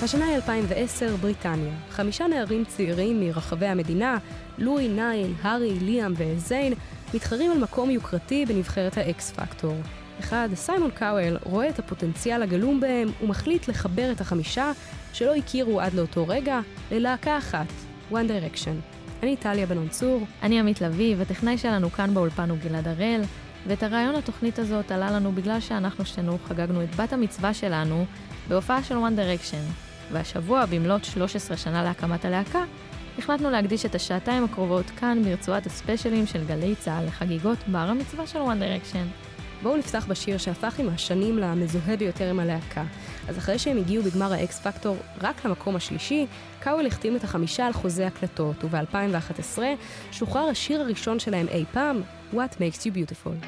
השנה היא 2010, בריטניה. 5 נערים צעירים מרחבי המדינה, לואי, נייל, הארי, ליאם וזיין, מתחרים על מקום יוקרתי בנבחרת האקס פקטור. אחד, סיימון קאוול, רואה את הפוטנציאל הגלום בהם ומחליט לחבר את 5 שלא הכירו עד לאותו רגע ללהקה אחת, One Direction. אני טליה בנון צור. אני עמית לוי, וטכנאי שלנו כאן באולפן הוא גלעד הראל, ואת הרעיון התוכנית הזאת עלה לנו בגלל שאנחנו שנינו חגגנו את בת המצווה שלנו בהופעה של One Direction. והשבוע, במלאת 13 שנה להקמת הלהקה, החלטנו להקדיש את השעתיים הקרובות כאן ברצועת הספיישלים של גלי צהל לחגיגות בר המצווה של One Direction. בואו נפתח בשיר שהפך עם השנים למזוהה ביותר עם הלהקה. אז אחרי שהם הגיעו בגמר האקס פקטור רק למקום השלישי, קאוול החתים את 5 על חוזה הקלטות, וב-2011 שוחרר השיר הראשון שלהם אי פעם, What Makes You Beautiful.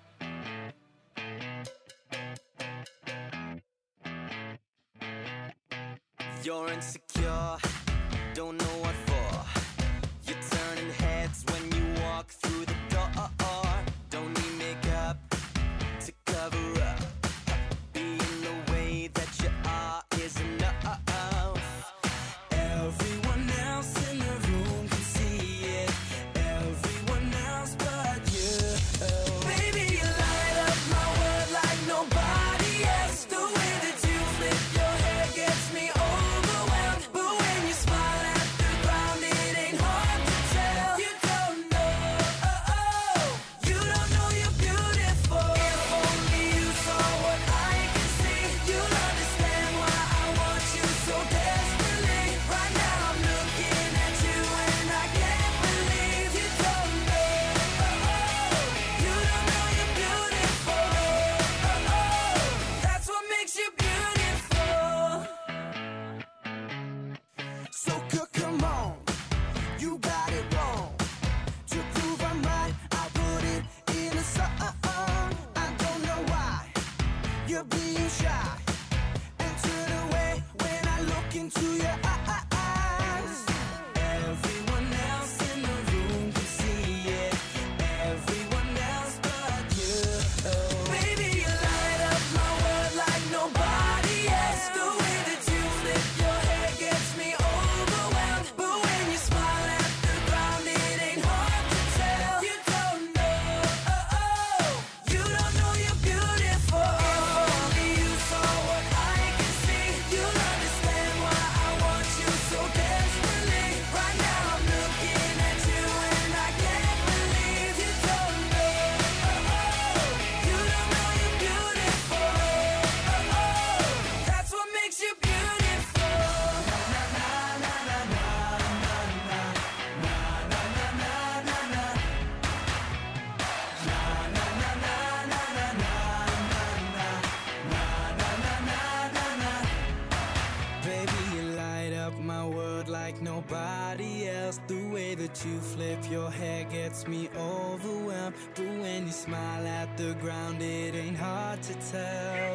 You're insecure, don't know what for. You're turning heads when you walk through the door. Don't need makeup to cover up. Being the way that you are is enough. Everyone else in the room can see it. Everyone else but you. Baby, you light up my world like nobody else. The way that you flip your hair gets me overwhelmed. But when you smile at the ground, it ain't hard to tell. You don't know, you don't know you're beautiful. If only you saw what I can see, you'll understand why I want you so desperately. Right now I'm looking at you and I can't believe you don't know, you don't know you're beautiful. That's what makes you beautiful. So come on, you got it wrong. To prove I'm right, I put it in a song. I don't know why you're being shy and turn away when I look into your eyes. Everyone else in the room can see it. Everyone else but you. Baby, you light up my world like nobody else. The way that you flip your hair gets me overwhelmed. But when you smile at the ground, it ain't hard to tell. You don't know, you don't know you're beautiful. If only you saw what I can see, you'll understand why I want you so desperately. Right now I'm looking at you and I can't believe you don't know, you don't know you're beautiful. That's what makes you beautiful. Baby, you light up my world like nobody else. The way that you flip your hair gets me overwhelmed. But when you smile at the ground, it ain't hard to tell.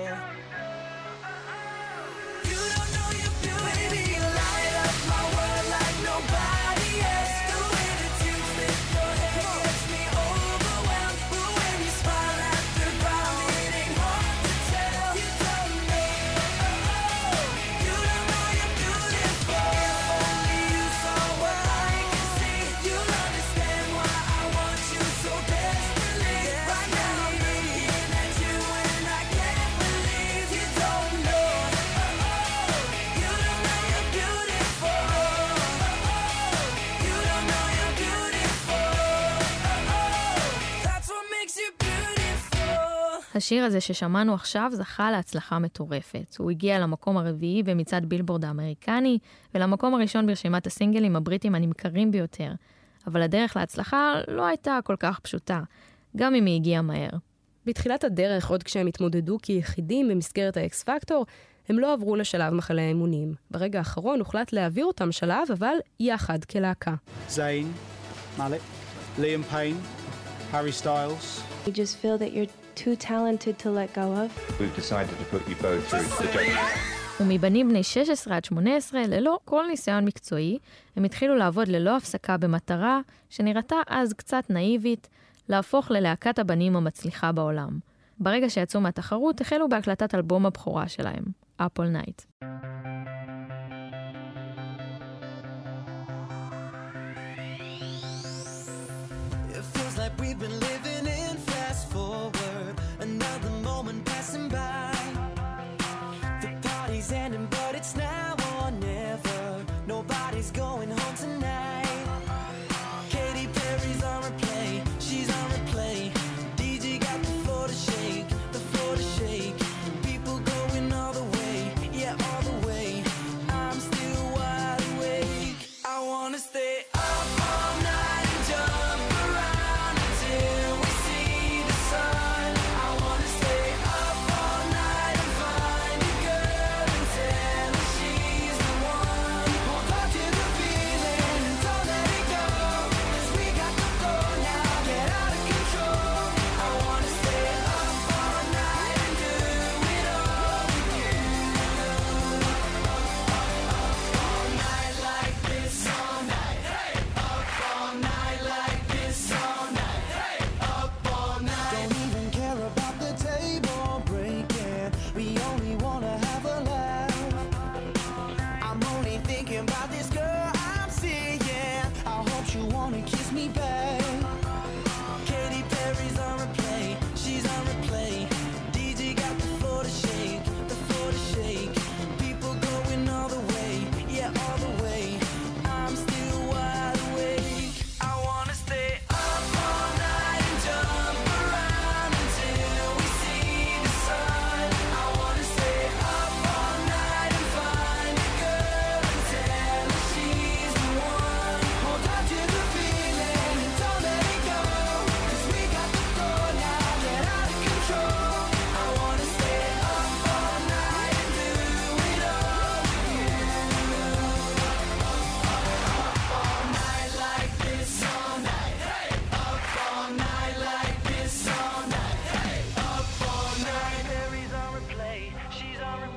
You don't know you're beautiful. Baby, you light up my world like nobody else. The way that you flip your hair gets me overwhelmed. But when you smile at the ground, it ain't hard to tell. You don't know, you don't know you're beautiful. If only you saw what I can see, you'll understand why I want you so desperately. Right now I'm looking at you and I can't believe you don't know, you don't know you're beautiful. You don't know you're beautiful. That's what makes you beautiful. השיר הזה ששמענו עכשיו זכה להצלחה מטורפת. הוא הגיע למקום הרביעי במצעד בילבורד האמריקני, ולמקום הראשון ברשימת הסינגלים הבריטים הנמכרים ביותר. אבל הדרך להצלחה לא הייתה כל כך פשוטה, גם אם היא הגיעה מהר. בתחילת הדרך, עוד כשהם התמודדו כיחידים במסגרת האקס פקטור, הם לא עברו לשלב מחנה האמונים. ברגע האחרון הוחלט להעביר אותם שלב, אבל יחד כלהקה. Zayn, Malik, Liam Payne, Harry Styles. You just feel that you're too talented to let go of. We've decided to put you both through the judges. ומבנים בני 16 עד 18, ללא כל ניסיון מקצועי, הם התחילו לעבוד ללא הפסקה במטרה, שנראתה אז קצת נאיבית, להפוך ללהקת הבנים המצליחה בעולם. ברגע שיצאו מהתחרות, החלו בהקלטת אלבום הבכורה שלהם, Apple Night.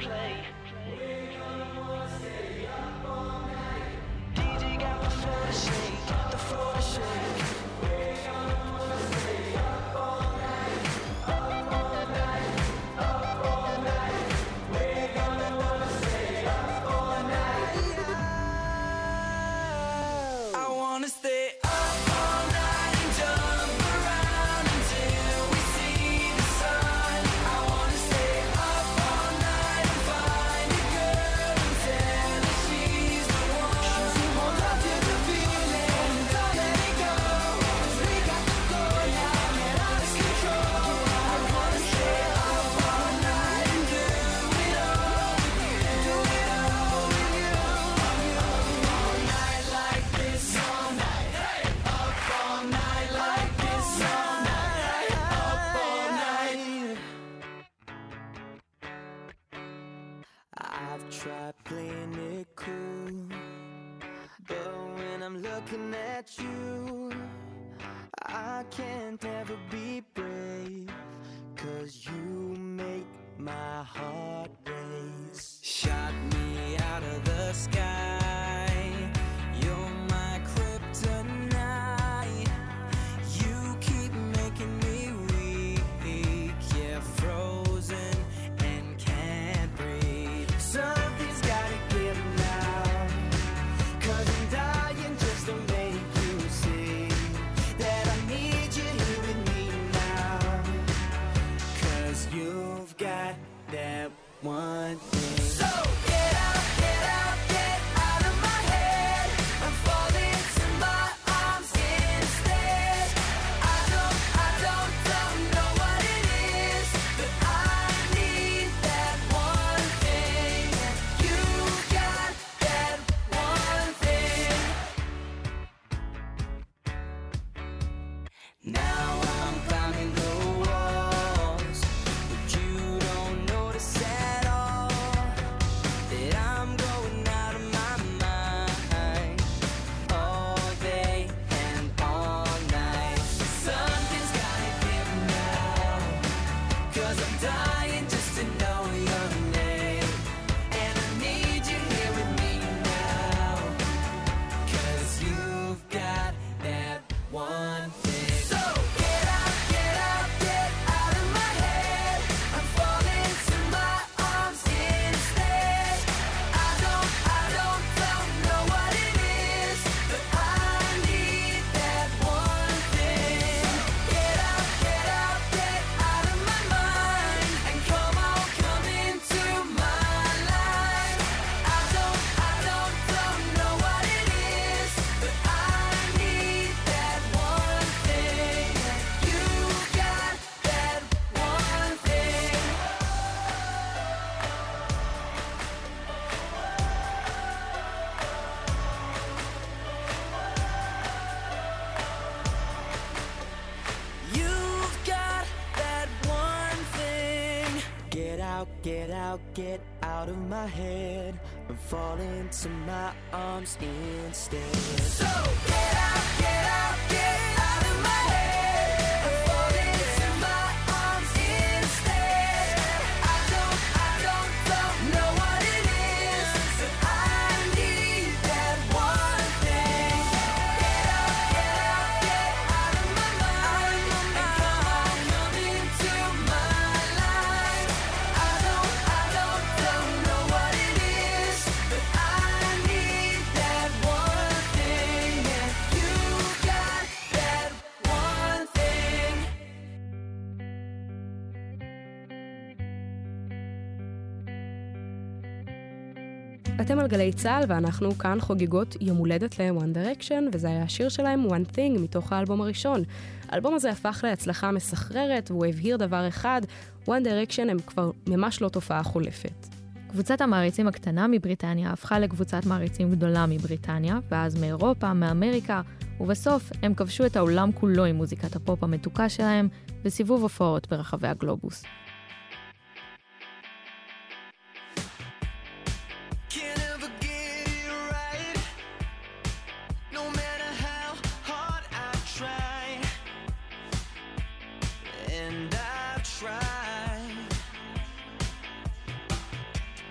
I've tried playing it cool, but when I'm looking at you, I can't ever be brave, 'cause you make my heart race. Shot me out of the sky, you're my kryptonite. You keep making me weak, yeah, frozen and can't breathe. Something's gotta give now, 'cause I'm dying just to make you see that I need you here with me now. 'Cause you've got that one thing. So get out, get out, get out of my head. I'm falling to my arms instead. I don't know what it is, but I need that one thing. You got that one thing. Now I'm climbing the walls, but you don't notice at all that I'm going out of my mind all day and all night. Something's gotta give now, 'cause I'm dying just to know your name, and I need you here with me now, 'cause you've got that one thing. So get out, get out, get out of my head. I'm falling to my arms instead. I don't know what it is, but I need that one thing. Get out, get out, get out of my mind, and come on, come into my life. I don't know what it is, but I need that one thing. You got that one thing. You've got that one thing. Get out, get out, get out of my head. I'm falling to my arms instead. So get out, get out, get out of my head. I'm falling to my arms instead. I don't know what it is, but I need that one thing. Get out, get out, get out of my mind, and come on, come into my life. I don't know what it is, but I need that one thing, and you got that one thing. אתם על גלי צהל ואנחנו כאן חוגגות יום הולדת ל-One Direction, וזה היה השיר שלהם One Thing מתוך האלבום הראשון. האלבום הזה הפך להצלחה מסחררת והוא הבהיר דבר אחד, One Direction הם כבר ממש לא תופעה חולפת. קבוצת המעריצים הקטנה מבריטניה הפכה לקבוצת מעריצים גדולה מבריטניה, ואז מאירופה, מאמריקה, ובסוף הם כבשו את העולם כולו עם מוזיקת הפופ המתוקה שלהם בסיבוב הופעות ברחבי הגלובוס. Can't ever get it right, no matter how hard I try, and I've tried.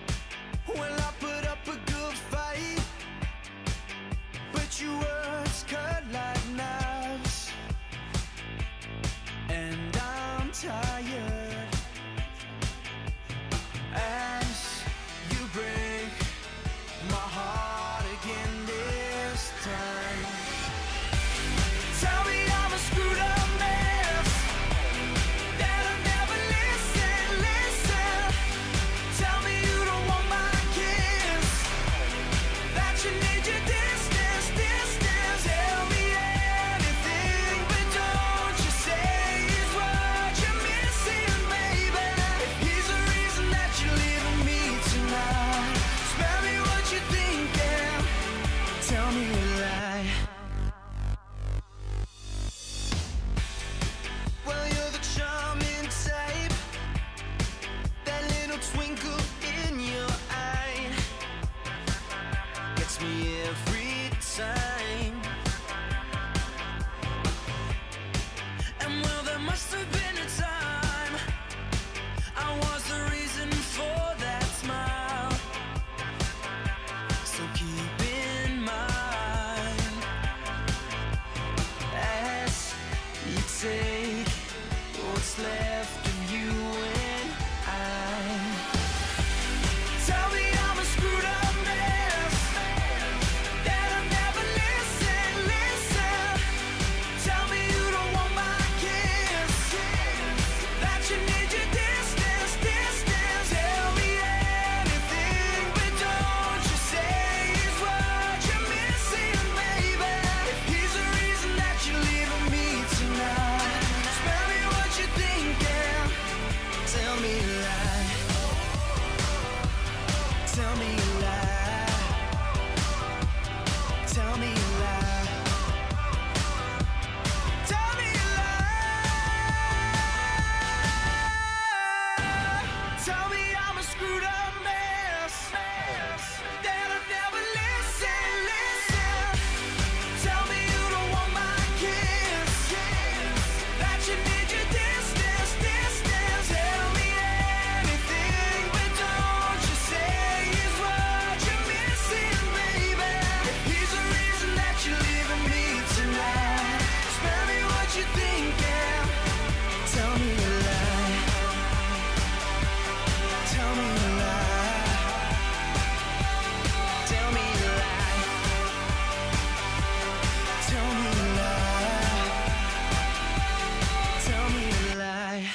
I'm a screwed up mess that I've never listen. Tell me you don't want my kiss, that you need your distance. Tell me anything, but don't you say is what you're missing, baby. If he's the reason that you're leaving me tonight, spare me what you thinking. Tell me a lie. Tell me a lie. Tell me a lie. Tell me a lie. Tell me a lie.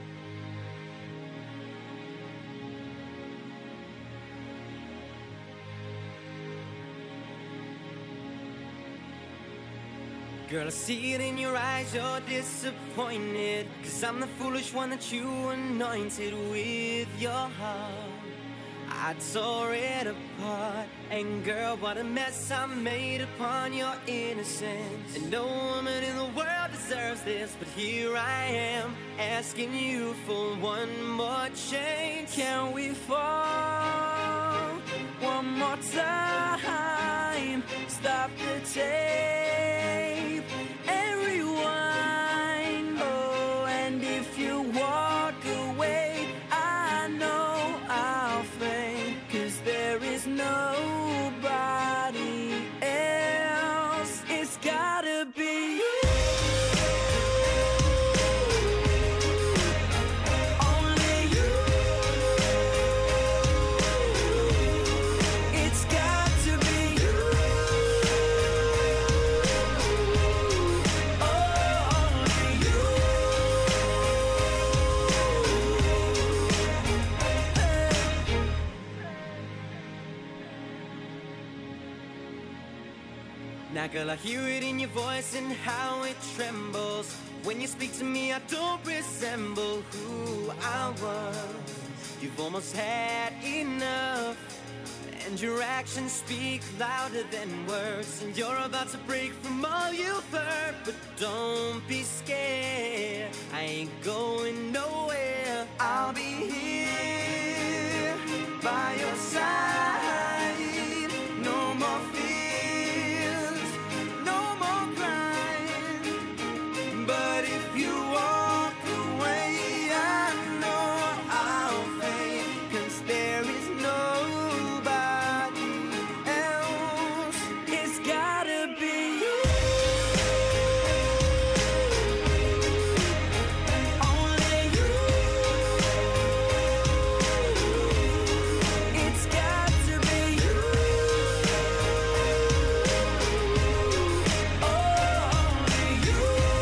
Girl, I see it in your eyes, you're disappointed, 'cause I'm the foolish one that you anointed with your heart. I tore it apart, and girl, what a mess I made upon your innocence. And no woman in the world deserves this, but here I am, asking you for one more chance. Can we fall one more time? Stop the tape and rewind. Oh, and if you walk away, I know I'll faint, 'cause there is nobody else. It's gotta be you. Only you. It's got to be you. Oh, only you. Now girl, I hear it in your voice and how it trembles. When you speak to me, I don't resemble who I was. You've almost had enough, and your actions speak louder than words. And you're about to break from all you've heard, but don't be scared, I ain't going nowhere. I'll be here by your side. No more fears, no more crying. But if you walk away, I know I'll faint, 'cause there is nobody else. It's gotta be you. Only you. It's got to be you. Oh, only you.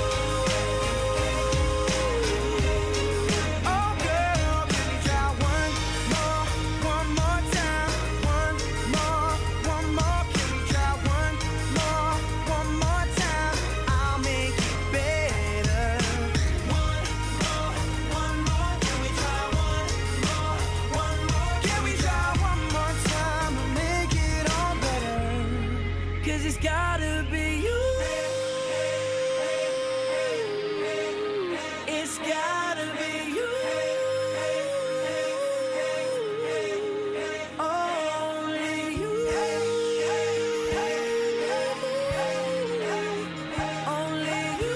Oh, girl, can we try one more time? One more. Can we try one more time? I'll make it better. One more. Can we try one more? Can we try one more time to make it all better? 'Cause it's gotta be you. It's gotta be you. Only you. Only you.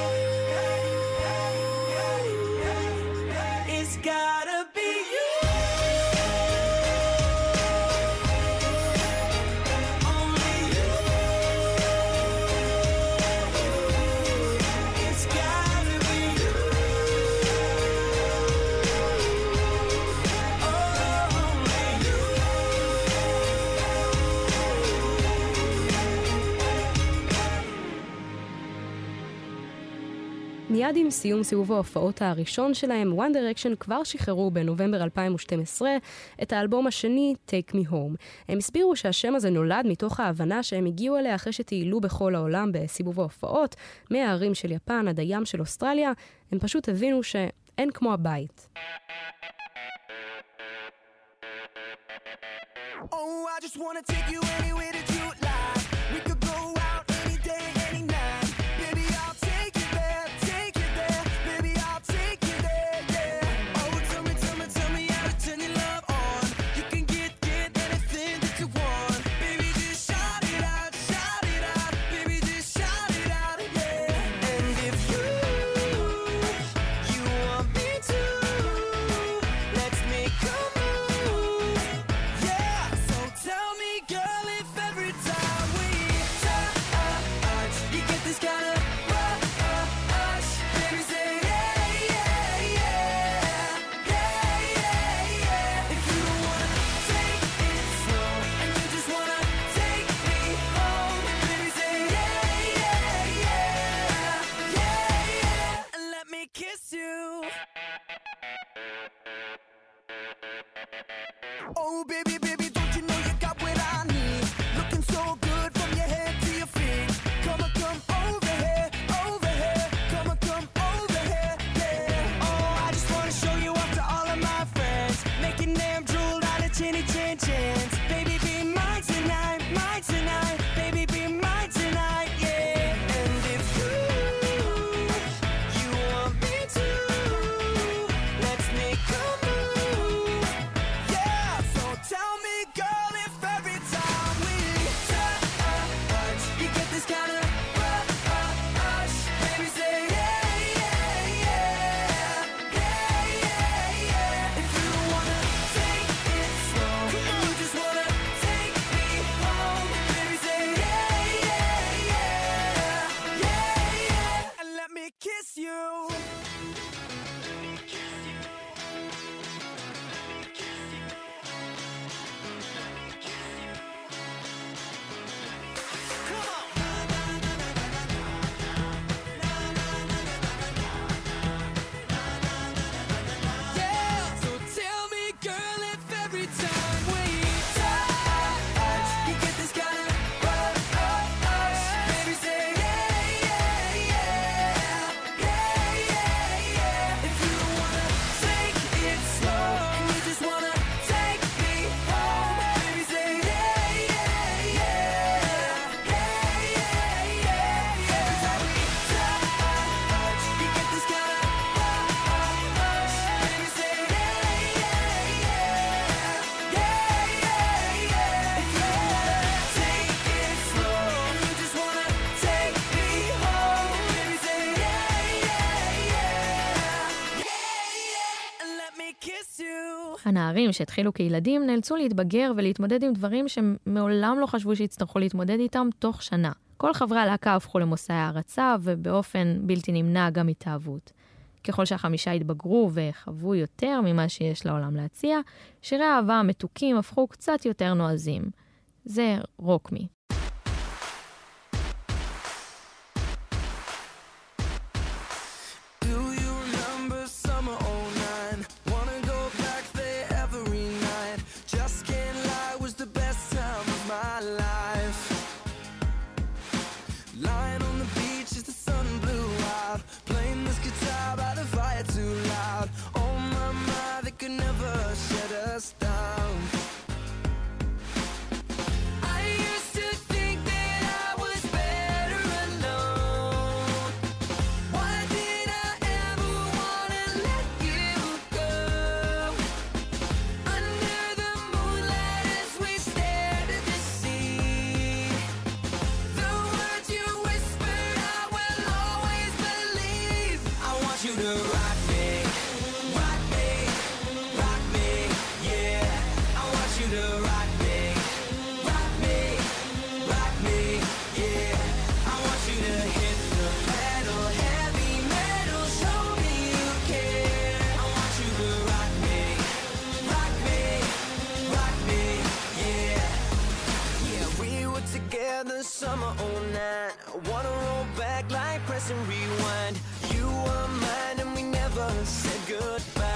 It's gotta be you. Only you. It's gotta be you. Oh, only you. מיד עם סיום סיבוב ההופעות הראשון שלהם, One Direction כבר שחררו בנובמבר 2012 את האלבום השני, Take Me Home. הם הסבירו שהשם הזה נולד מתוך ההבנה שהם הגיעו אליה אחרי שטיילו בכל העולם בסיבוב ההופעות, מהערים של יפן עד הים של אוסטרליה, הם פשוט הבינו שאין כמו הבית. Oh, I just wanna take you anywhere that you like. We could go out any day, any night. Baby, I'll take you there, take you there. Baby, I'll take you there, yeah. Oh, tell me how to turn your love Oh baby, baby, don't you know you got what I need? Looking so good from your head to your feet. Come on, come over here, over here. Come on, come over here, yeah. Oh, I just wanna show you off to all of my friends, making them drool out of chinny chin chins. Baby, be mine tonight, mine tonight. Baby, be mine tonight, yeah. And if you want me to, let's make a move, yeah. So tell me, girl, if every time we touch, you get this kind of rush. Baby, say yeah, yeah, yeah, yeah, yeah, yeah. If you wanna take it slow, and you just wanna take me home, baby, say yeah, yeah, yeah, yeah, yeah. And let me kiss you. Yeah, so tell me, girl, if every time we touch, you get this kind of rush. Baby, say yeah, yeah, yeah, yeah, yeah, yeah. If you wanna take it slow, and you just wanna take me home, baby, say yeah, yeah, yeah, yeah, yeah, yeah. Every time we touch, you get this kind of rush. Baby, say yeah, yeah, yeah, yeah, yeah. If you wanna take it slow, and you just wanna take me home, baby, say yeah, yeah, yeah, yeah, and let me kiss you. הנערים שהתחילו כילדים נאלצו להתבגר ולהתמודד עם דברים שהם מעולם לא חשבו שיצטרכו להתמודד איתם תוך שנה. כל חברי הלהקה הפכו למושאי הערצה ובאופן בלתי נמנע גם התאהבות. ככל שהחמישה התבגרו וחוו יותר ממה שיש לעולם להציע, שירי האהבה המתוקים הפכו קצת יותר נועזים. זה רוק מי. Do you remember summer 09? Wanna go back there every night. Just can't lie, was the best time of my life. Lying on the beach as the sun blew out, playing this guitar by the fire too loud. Oh my, my, they could never shut us down. I used to think that I was better alone. Why did I ever wanna let you go? Under the moonlight as we stared at the sea, the words you whispered I will always believe. I want you to rock me, rock me, rock me, yeah. I want you to rock me, rock me, rock me, yeah. I want you to hit the pedal, heavy metal, show me you care. I want you to rock me, rock me, rock me, yeah. Yeah, we were together summer 09. I wanna roll back like press and rewind. You were mine and we never said goodbye.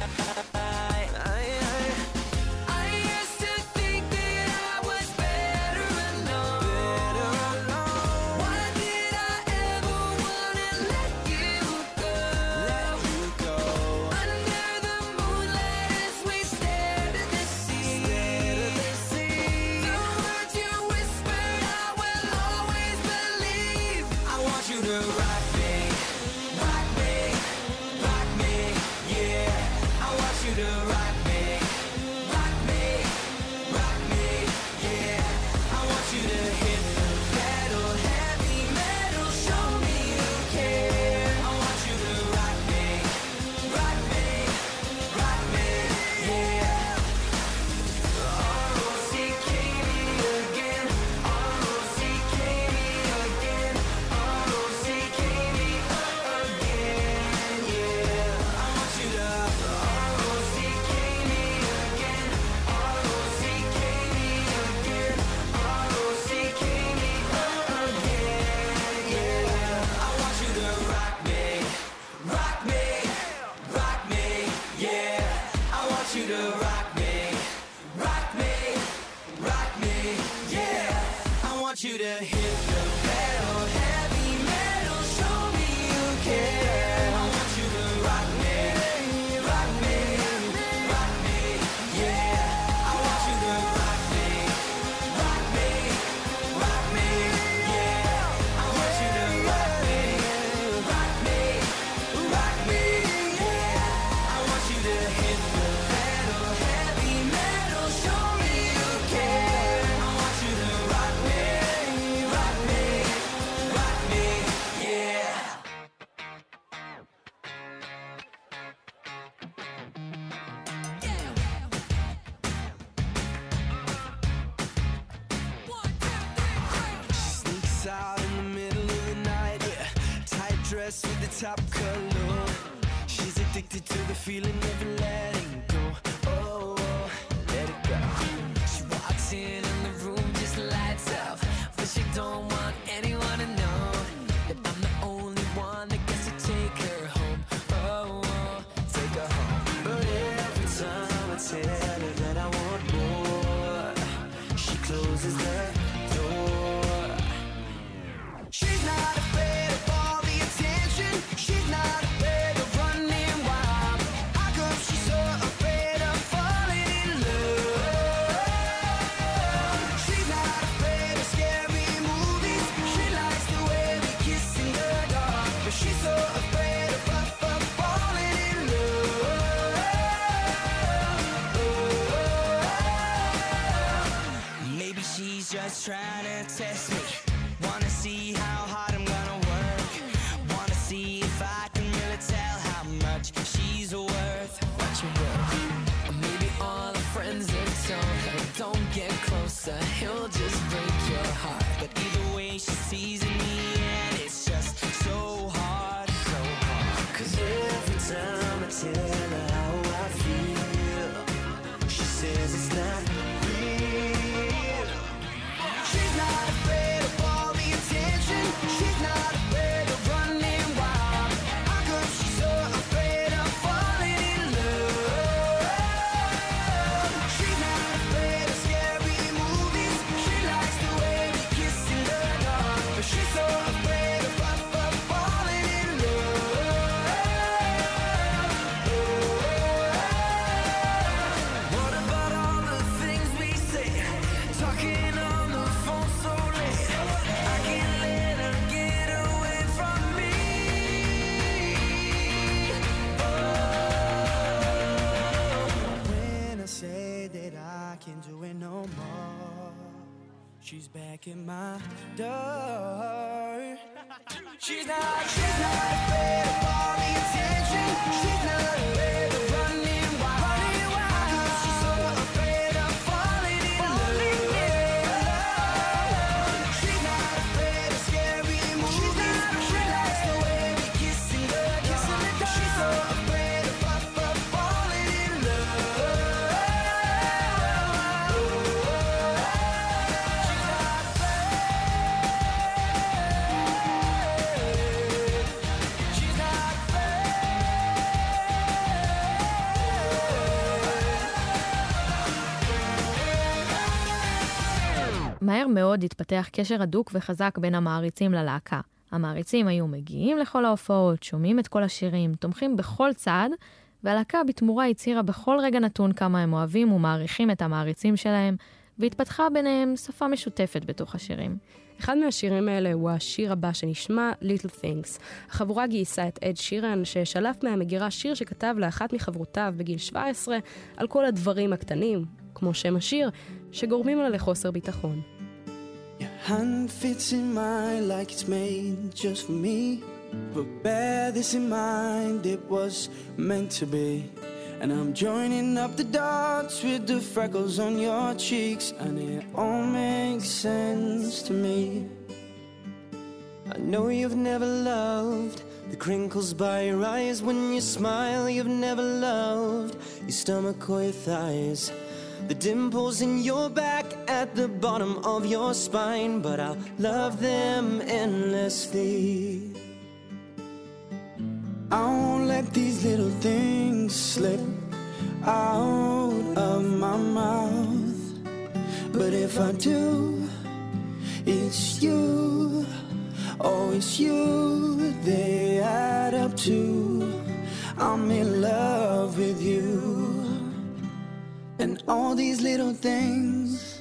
I used to think that I was better alone. Why did I ever wanna let you go? Under the moonlight as we stared at the sea, the words you whispered I will always believe. I want you to rock me, rock me, rock me, yeah. I want you to rock me, rock me, rock me, yeah. I want you to hit the pedal, heavy metal, show me you care. I want you to rock me, rock me, rock me, yeah. R-O-C-K me again, R-O-C-K me again, R-O-C-K me again, yeah. I want you to R-O-C-K me again, R-O-C-K me again, R-O-C-K me again, yeah. I want you to rock me, rock me, rock me, yeah. I want you to rock me, want you to hit the pedal, heavy metal, show me you care. I want you to rock me, rock me, rock me, yeah. I want you to rock me, rock me, rock me, yeah. I want you to rock me, rock me, rock me, yeah. I want you to hit the pedal, heavy metal, show me you care. I want you to rock me, rock me, rock me, yeah. Sneaks out in the middle of the night, yeah. Tight dress with the top color. She's addicted to the feeling of letting go. Oh, let it go. She walks in and the room just lights up, but she don't want anyone to know that I'm the only one that gets to take her home. Oh, take her home. But every time I tell her that I want more, she closes the door. She's not afraid of all the attention. She's not afraid of running wild. How come she's so afraid of falling in love? She's not afraid of scary movies. She likes the way we kiss in the dark, but she's so afraid of falling in love. Maybe she's just trying to test me. Wanna see how hard I'm gonna work. Wanna see if I can really tell how much she's worth. What you worth? Or maybe all the friends have told her, don't get closer, he'll just break your heart. But either way she sees in the end, it's just so hard, so hard. 'Cause every time I tell her how I feel, she says it's not real. She's not afraid of all the attention. She's not afraid of running wild. How come she's so afraid of falling in love? She's not afraid of scary movies. She likes the way we kiss in the dark, but she's so afraid of falling in love. What about all the things we say? Talking on the phone so late. I can't let her get away from me. When I say that I can't do it no more, she's back at my door. She's not afraid of all the attention. She's not afraid of running wild. How come she's so afraid of falling in love? She's not afraid of scary movies. She likes the way we kiss in the dark. She's so afraid of falling in love. She's not מהר מאוד התפתח קשר הדוק וחזק בין המעריצים ללהקה. המעריצים היו מגיעים לכל ההופעות, שומעים את כל השירים, תומכים בכל צעד, והלהקה בתמורה הצהירה בכל רגע נתון כמה הם אוהבים ומעריכים את המעריצים שלהם, והתפתחה ביניהם שפה משותפת בתוך השירים. אחד מהשירים האלה הוא השיר הבא שנשמע Little Things. החבורה גייסה את אד שירן ששלף מהמגירה שיר שכתב לאחת מחברותיו בגיל 17 על כל הדברים הקטנים, כמו שם השיר, שגורמים לה לחוסר ביטחון. Your hand fits in mine like it's made just for me. But bear this in mind, it was meant to be. And I'm joining up the dots with the freckles on your cheeks, and it all makes sense to me. I know you've never loved the crinkles by your eyes when you smile. You've never loved your stomach or your thighs, the dimples in your back at the bottom of your spine, but I'll love them endlessly. I won't let these little things slip out of my mouth. But if I do, It's you, oh it's you, they add up to I'm in love with you. And all these little things.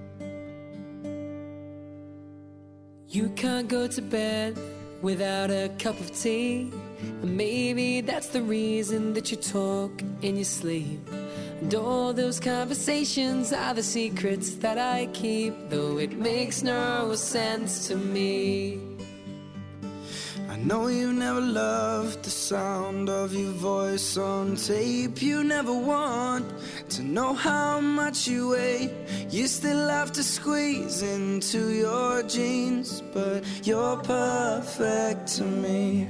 You can't go to bed without a cup of tea, and maybe that's the reason that you talk in your sleep. And all those conversations are the secrets that I keep, though it makes no sense to me. I know you never loved the sound of your voice on tape. You never want to know how much you weigh. You still have to squeeze into your jeans, but you're perfect to me.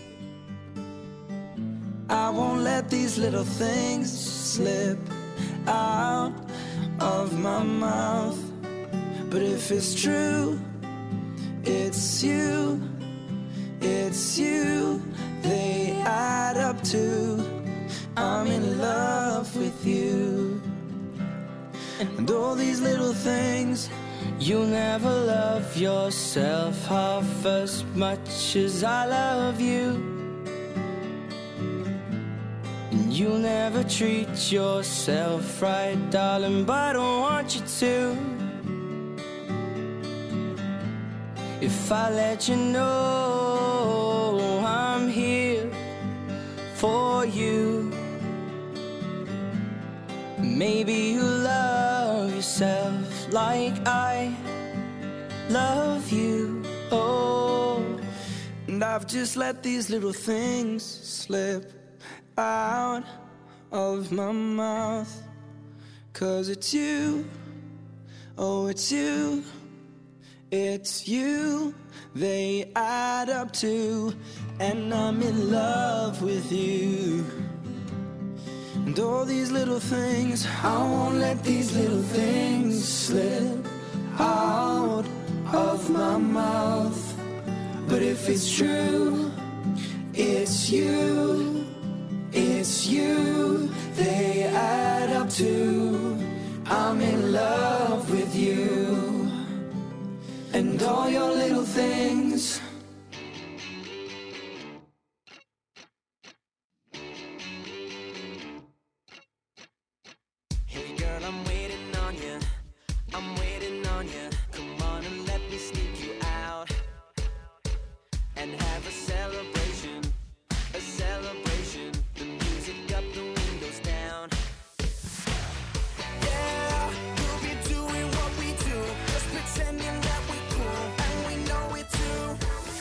I won't let these little things slip out of my mouth. But if it's true, it's you. It's you, they add up to I'm in love with you. And all these little things. You'll never love yourself half as much as I love you. And you'll never treat yourself right, darling, but I don't want you to. If I let you know I'm here for you, maybe you'll love yourself like I love you. Oh, and I've just let these little things slip out of my mouth. 'Cause it's you, oh it's you. It's you, they add up to, and I'm in love with you. And all these little things, I won't let these little things slip out of my mouth. But if it's true, it's you, it's you, they add up to, I'm in love with you. And all your little things. Hey girl, I'm waiting on you. I'm waiting on you. Come on and let me sneak you out and have a celebration. A celebration. The music up, the windows down. Yeah, we'll be doing what we do, just pretending that we cool, and we know it too.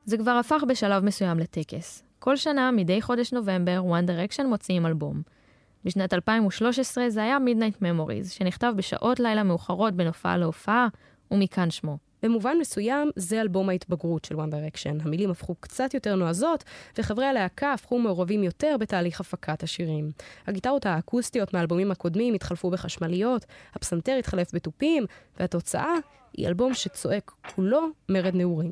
זה כבר הפך בשלב מסוים לטקס. כל שנה, מדי חודש נובמבר, One Direction מוציאים אלבום. בשנת 2013 זה היה Midnight Memories, שנכתב בשעות לילה מאוחרות בין הופעה להופעה, ומכאן שמו. במובן מסוים, זה אלבום ההתבגרות של One Direction. המילים הפכו קצת יותר נועזות, וחברי הלהקה הפכו מעורבים יותר בתהליך הפקת השירים. הגיטרות האקוסטיות מהאלבומים הקודמים התחלפו בחשמליות, הפסנתר התחלף בטופים, והתוצאה היא אלבום שצועק כולו מרד נעורים.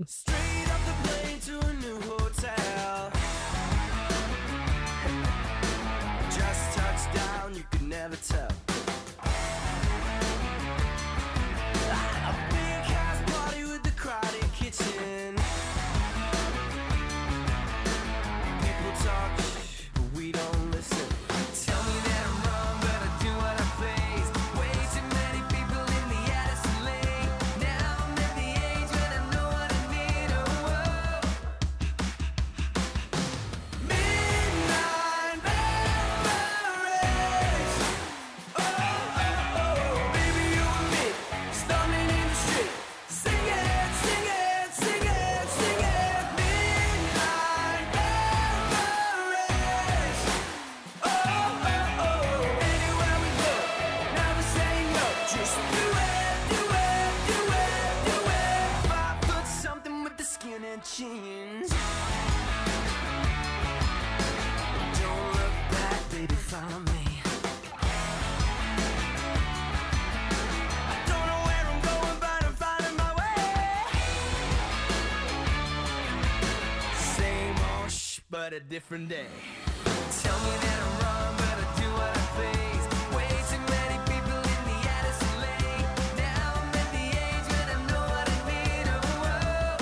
But a different day. Tell me that I'm wrong, but I do what I please. Way too many people in the Addison Lane. Now I'm at the age when I know what I need. Oh, oh.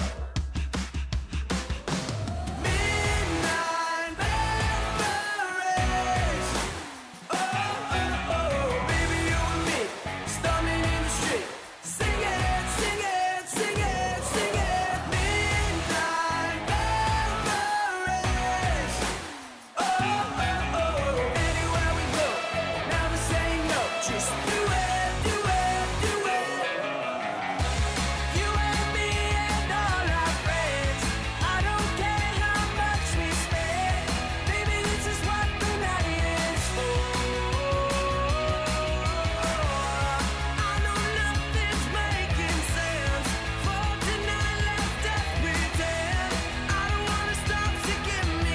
Midnight memories. Oh, oh, oh. Baby, you and me, storming in the street. Sing it, sing it, sing it, sing it. Midnight memories. Anywhere we go, never say no. Just do it, do it, do it. You and me and all our friends. I don't care how much we spend. Baby, this is what the night is for. I know nothing's making sense. For tonight, let's just pretend. I don't wanna stop to give me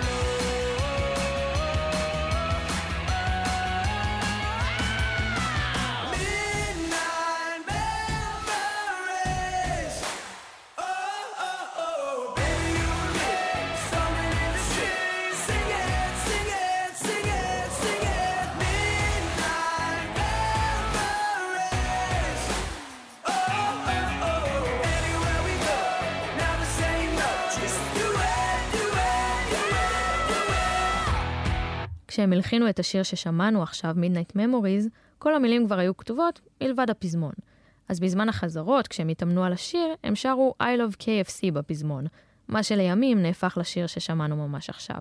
Midnight memories. Oh, oh, oh. Baby, you and me, storming in the street. Sing it, sing it, sing it, sing it. Midnight memories. Oh, oh, oh. Anywhere we go, never say no. Just do it, do it, do it, do it. כשהם הלחינו את השיר ששמענו עכשיו, Midnight Memories, כל המילים כבר היו כתובות מלבד הפזמון. אז בזמן החזרות, כשהם התאמנו על השיר, הם שרו I Love KFC בפזמון, מה שלימים נהפך לשיר ששמענו ממש עכשיו.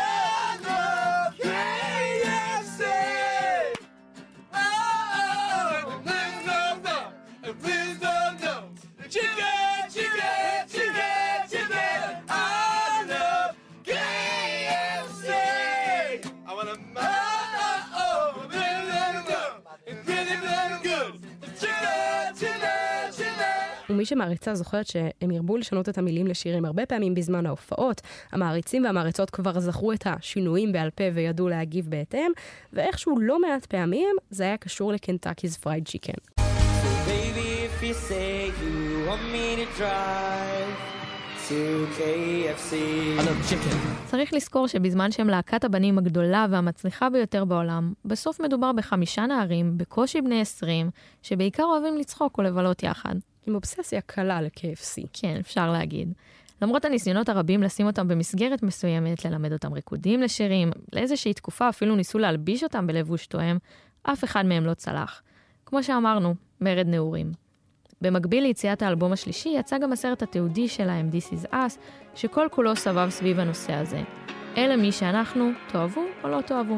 ומי שמעריצה זוכרת שהם ירבו לשנות את המילים לשירים הרבה פעמים בזמן ההופעות. המעריצים והמעריצות כבר זכרו את השינויים בעל פה וידעו להגיב בהתאם, ואיכשהו לא מעט פעמים זה היה קשור לקנטקי's פרייד צ'יקן. Baby, if you say you want me to drive to KFC. I love chicken. צריך לזכור שבזמן שהם להקת הבנים הגדולה והמצליחה ביותר בעולם, בסוף מדובר ב5 נערים, בקושי בני 20, שבעיקר אוהבים לצחוק או לבלות יחד. עם אובססיה קלה ל-KFC. כן, אפשר להגיד. למרות הניסיונות הרבים לשים אותם במסגרת מסוימת, ללמד אותם ריקודים לשירים, לאיזושהי תקופה אפילו ניסו להלביש אותם בלבוש תואם, אף אחד מהם לא צלח. כמו שאמרנו, מרד נעורים. במקביל ליציאת האלבום השלישי, יצא גם הסרט התיעודי שלהם, This Is Us, שכל כולו סבב סביב הנושא הזה. אלה מי שאנחנו, תאהבו או לא תאהבו.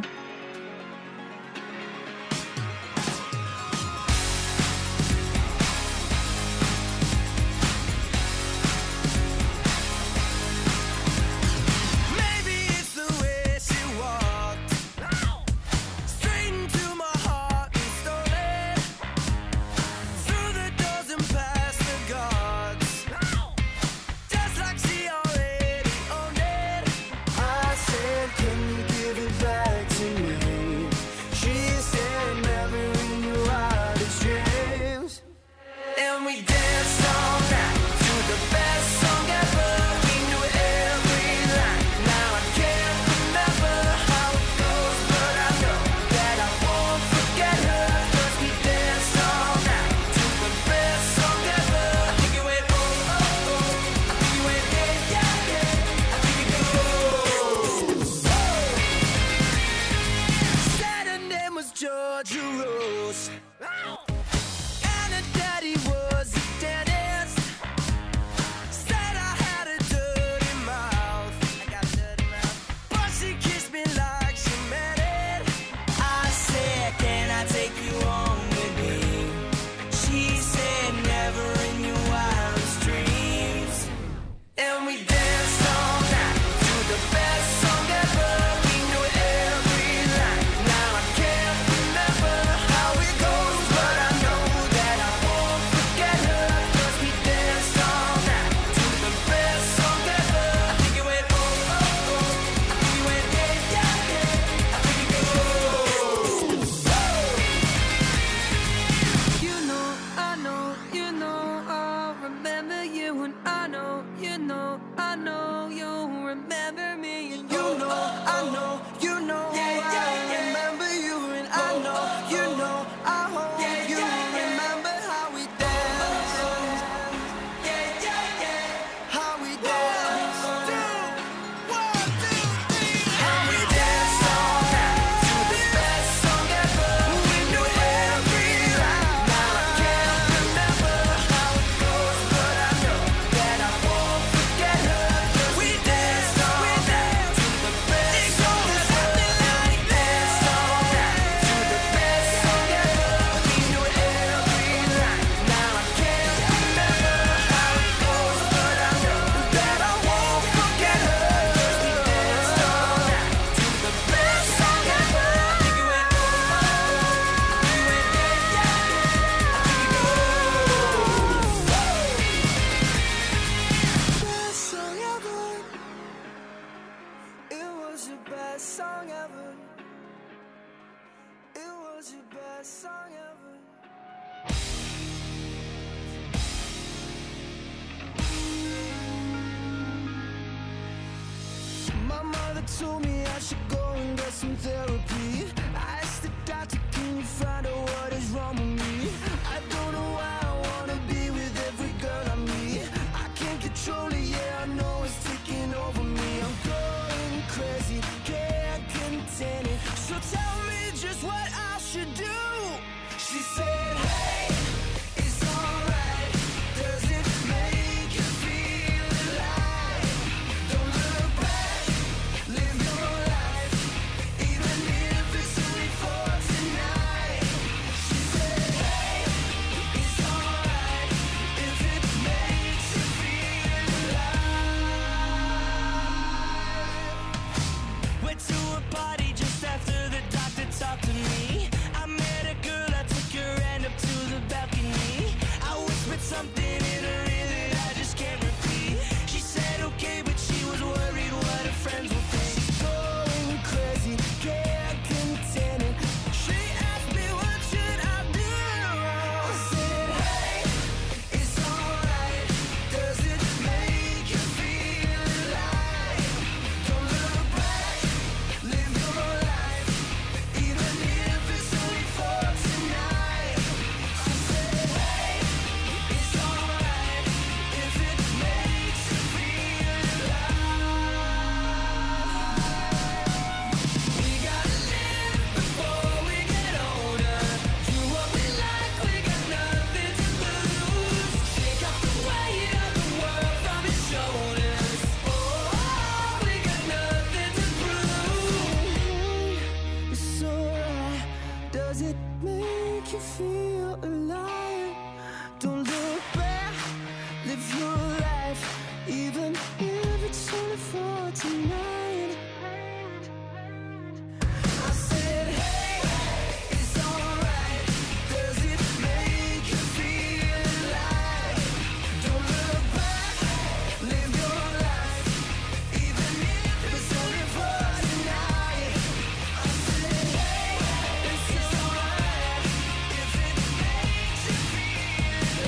followed your rules. And her daddy was a dentist. Said I had a dirty mouth. But she kissed me like she meant it. I said, can I take you home with me? She said, never in your wildest dreams. And we danced all night to the best song ever. We knew every line. Now I can't remember how it goes, but I know that I won't forget her. 'Cause we danced all night to the best song ever. I think it went oh oh oh. I think it went yeah yeah yeah. I think it goes. You know, I know, you know, I'll remember you, and I know, you know, I know you'll remember me, and you know, I know, you know, I remember you, and I know, you know, I hope you remember how we danced, how we danced, 1, 2, 3, how we danced all night to the best song ever. We knew every line. Now I can't remember how it goes, but I know that I won't forget her. 'Cause we danced all night to the best song ever. Danced all night to the best song ever. We knew every line. Now I can't remember how it goes, but I know that I won't forget her. 'Cause we danced all night to the best song ever. I think it went oh oh oh. I think it went yeah yeah yeah. I think it goes. Best song ever. It was your best song ever. It was your best song ever. My mother told me I should go and get some therapy. I asked the doctor, can you find out what is wrong with me? I don't know why I wanna be with every girl I meet. I can't control it, yeah, I know it's taking over me. I'm going crazy, can't contain it. So tell me just what I should do. She said, hey, it's alright. Does it make you feel alive? Don't look back, live your life, even if it's only for tonight. She said, hey, it's alright if it makes you feel alive. Went to a party just after the doctor talked to me. I met a girl, I took her hand up to the balcony. I whispered something in her ear that I just can't repeat. She said okay, but she was worried what her friends would think. Going crazy, can't contain it. She asked me what should I do. I said, hey, it's alright. Does it make you feel alive? Don't look back, live your life, even if it's only for tonight. She said, hey, it's alright if it makes you feel alive. We gotta live before we get older. Do what we like, we got nothing to lose. Shake off the weight of the world from your shoulders. Oh, we got nothing to prove. It's alright. Does it make you feel alive? Don't look back, live your life, even if it's only for tonight. I said, hey, it's alright. Does it make you feel alive? Don't look back, live your life, even if it's only for tonight. I said, hey, it's alright if it makes you feel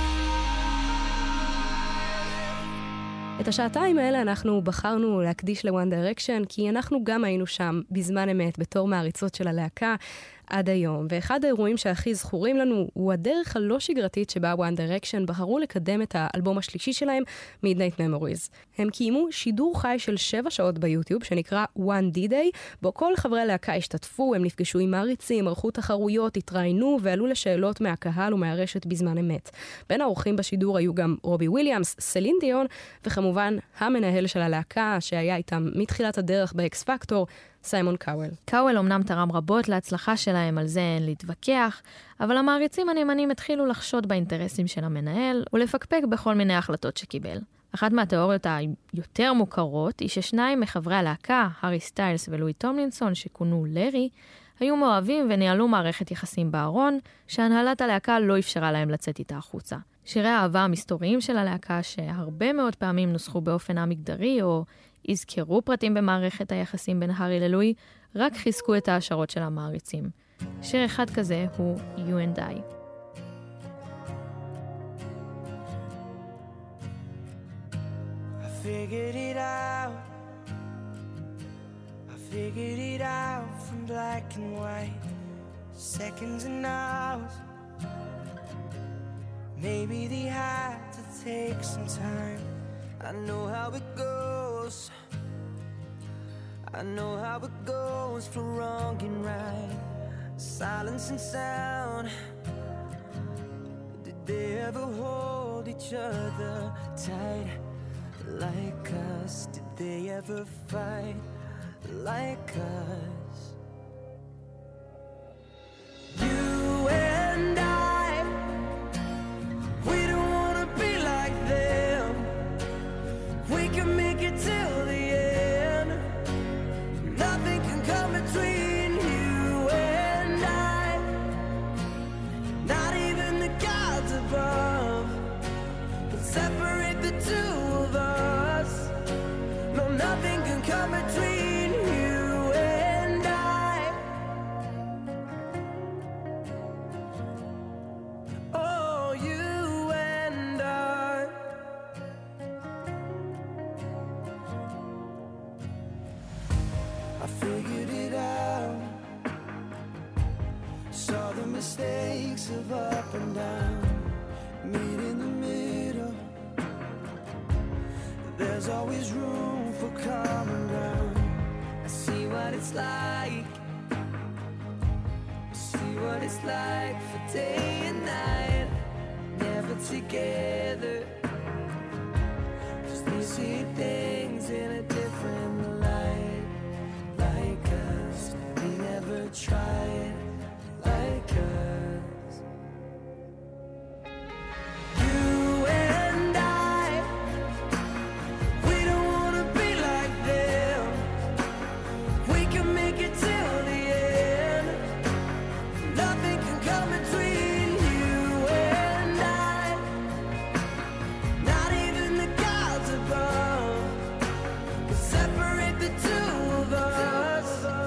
alive. את השעתיים האלה אנחנו בחרנו להקדיש ל-One Direction, כי אנחנו גם היינו שם בזמן אמת בתור מעריצות של הלהקה. עד היום, ואחד האירועים שהכי זכורים לנו הוא הדרך הלא שגרתית שבה One Direction בחרו לקדם את האלבום השלישי שלהם, Midnight Memories. הם קיימו שידור חי של 7 שעות ביוטיוב שנקרא One D-Day, בו כל חברי הלהקה השתתפו, הם נפגשו עם מעריצים, ערכו תחרויות, התראיינו ועלו לשאלות מהקהל ומהרשת בזמן אמת. בין האורחים בשידור היו גם רובי וויליאמס, סלין דיון, וכמובן המנהל של הלהקה שהיה איתם מתחילת הדרך באקס פקטור, סיימון קאוול. קאוול אומנם תרם רבות להצלחה שלהם, על זה אין להתווכח, אבל המעריצים הנאמנים התחילו לחשוד באינטרסים של המנהל ולפקפק בכל מיני החלטות שקיבל. אחת מהתיאוריות היותר מוכרות היא ששניים מחברי הלהקה, הארי סטיילס ולואי טומלינסון, שכונו לארי, היו מאוהבים וניהלו מערכת יחסים בארון, שהנהלת הלהקה לא אפשרה להם לצאת איתה החוצה. שירי האהבה המסתוריים של הלהקה, שהרבה מאוד פעמים נוסחו באופן המגדרי, או הזכרו פרטים במערכת היחסים בין הארי ללואי, רק חיזקו את ההשערות של המעריצים. שיר אחד כזה הוא You and I. Figured it out. I figured it out from black and white, seconds and hours. Maybe they had to take some time. I know how it goes. I know how it goes for wrong and right, silence and sound. Did they ever hold each other tight like us? Did they ever fight like us? You and I, we don't wanna be like them. We can make it till the end. Nothing can come between you and I. Not even the gods above can separate the two of us. No, nothing can come between you and I. Oh, you and I. I figured it out. Saw the mistakes of up and down. Meet in the middle. There's always room for common ground. I see what it's like. I see what it's like for day and night. Never together. 'Cause they see things in a different light. Like us, they never tried. Like us. You and I, we don't wanna be like them. We can make it till the end. Nothing can come between you and I. Not even the gods above can separate the two of us.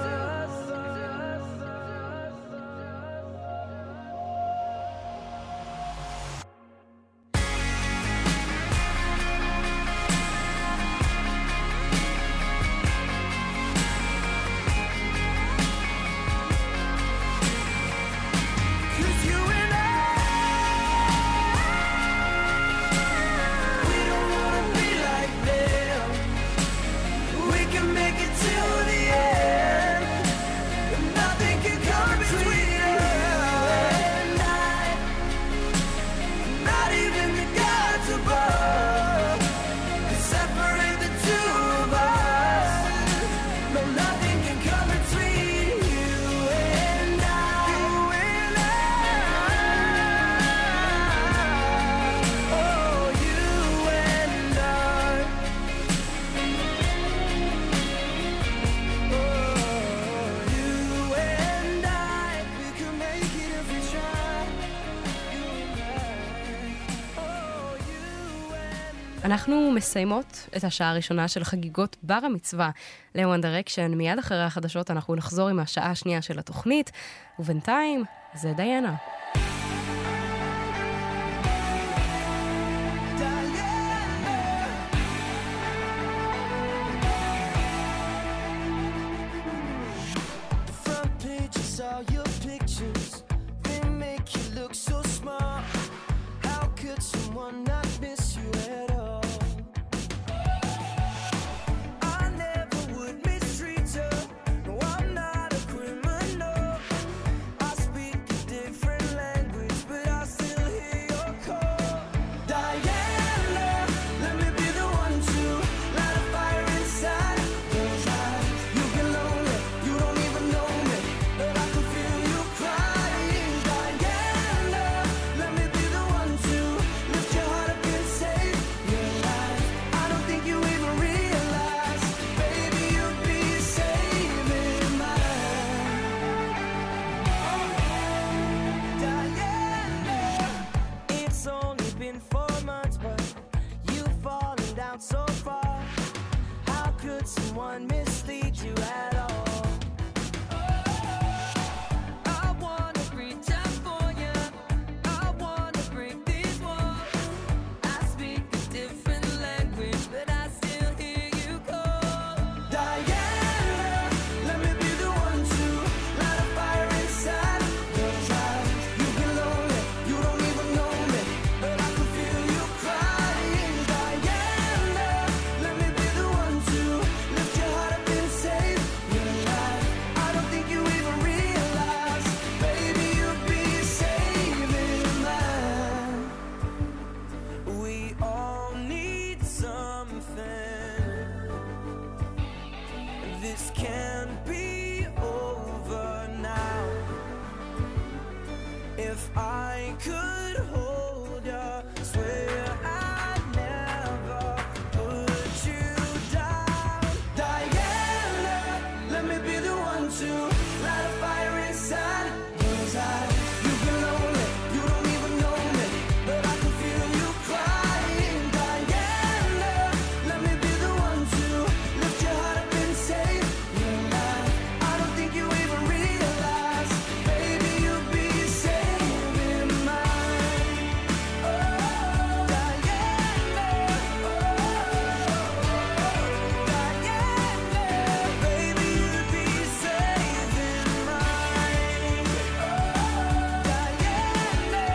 Cause you and I, we don't wanna be like them. We can make it till the end. Nothing can come between you and I. Not even the gods above can separate the two of us. No, nothing can come between you and I. You and I. Oh, you and I. Oh, you and I. We can make it if we try. You and I. Oh, you and I. אנחנו מסיימות את השעה הראשונה של חגיגות בר המצווה ל-One Direction. מיד אחרי החדשות אנחנו נחזור עם השעה השנייה של התוכנית, ובינתיים זה דיינה. Front page, I saw your picture. if I could hold you, swear I'd never put you down. Diana, let me be the one to light a fire inside your eyes. You've been lonely, you don't even know me, but I can feel you crying. Diana, let me be the one to lift your heart up and save your life. I don't think you even realize, baby, you'll be saving mine. Oh, Diana, Diana, baby, you'll be saving mine. Diana,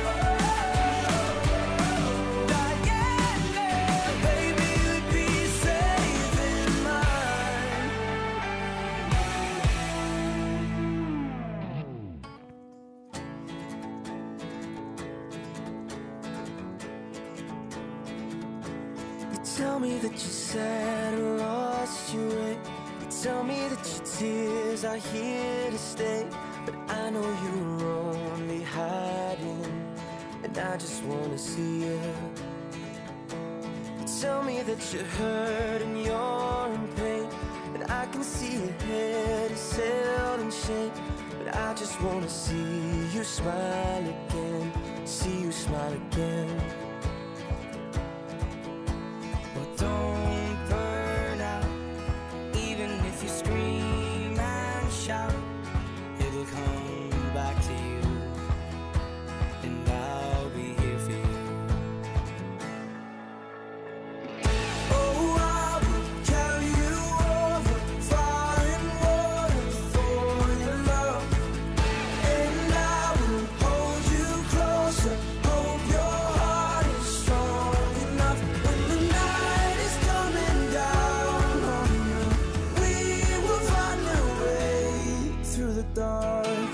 baby, you'd be saving mine. You tell me that you're sad and lost your way. You tell me that your tears are here to stay, but I know you were only hiding, and I just wanna see you. You tell me that you're hurt and you're in pain, and I can see your head is held in shame, but I just wanna see you smile again, see you smile again. Well, don't burn out, even if you scream and shout, it'll come back to you, and I'll be here for you. Oh, I will carry you over fire and water for your love, and I will hold you closer. Hope your heart is strong enough when the night is coming down on you. We will find a way through the dark.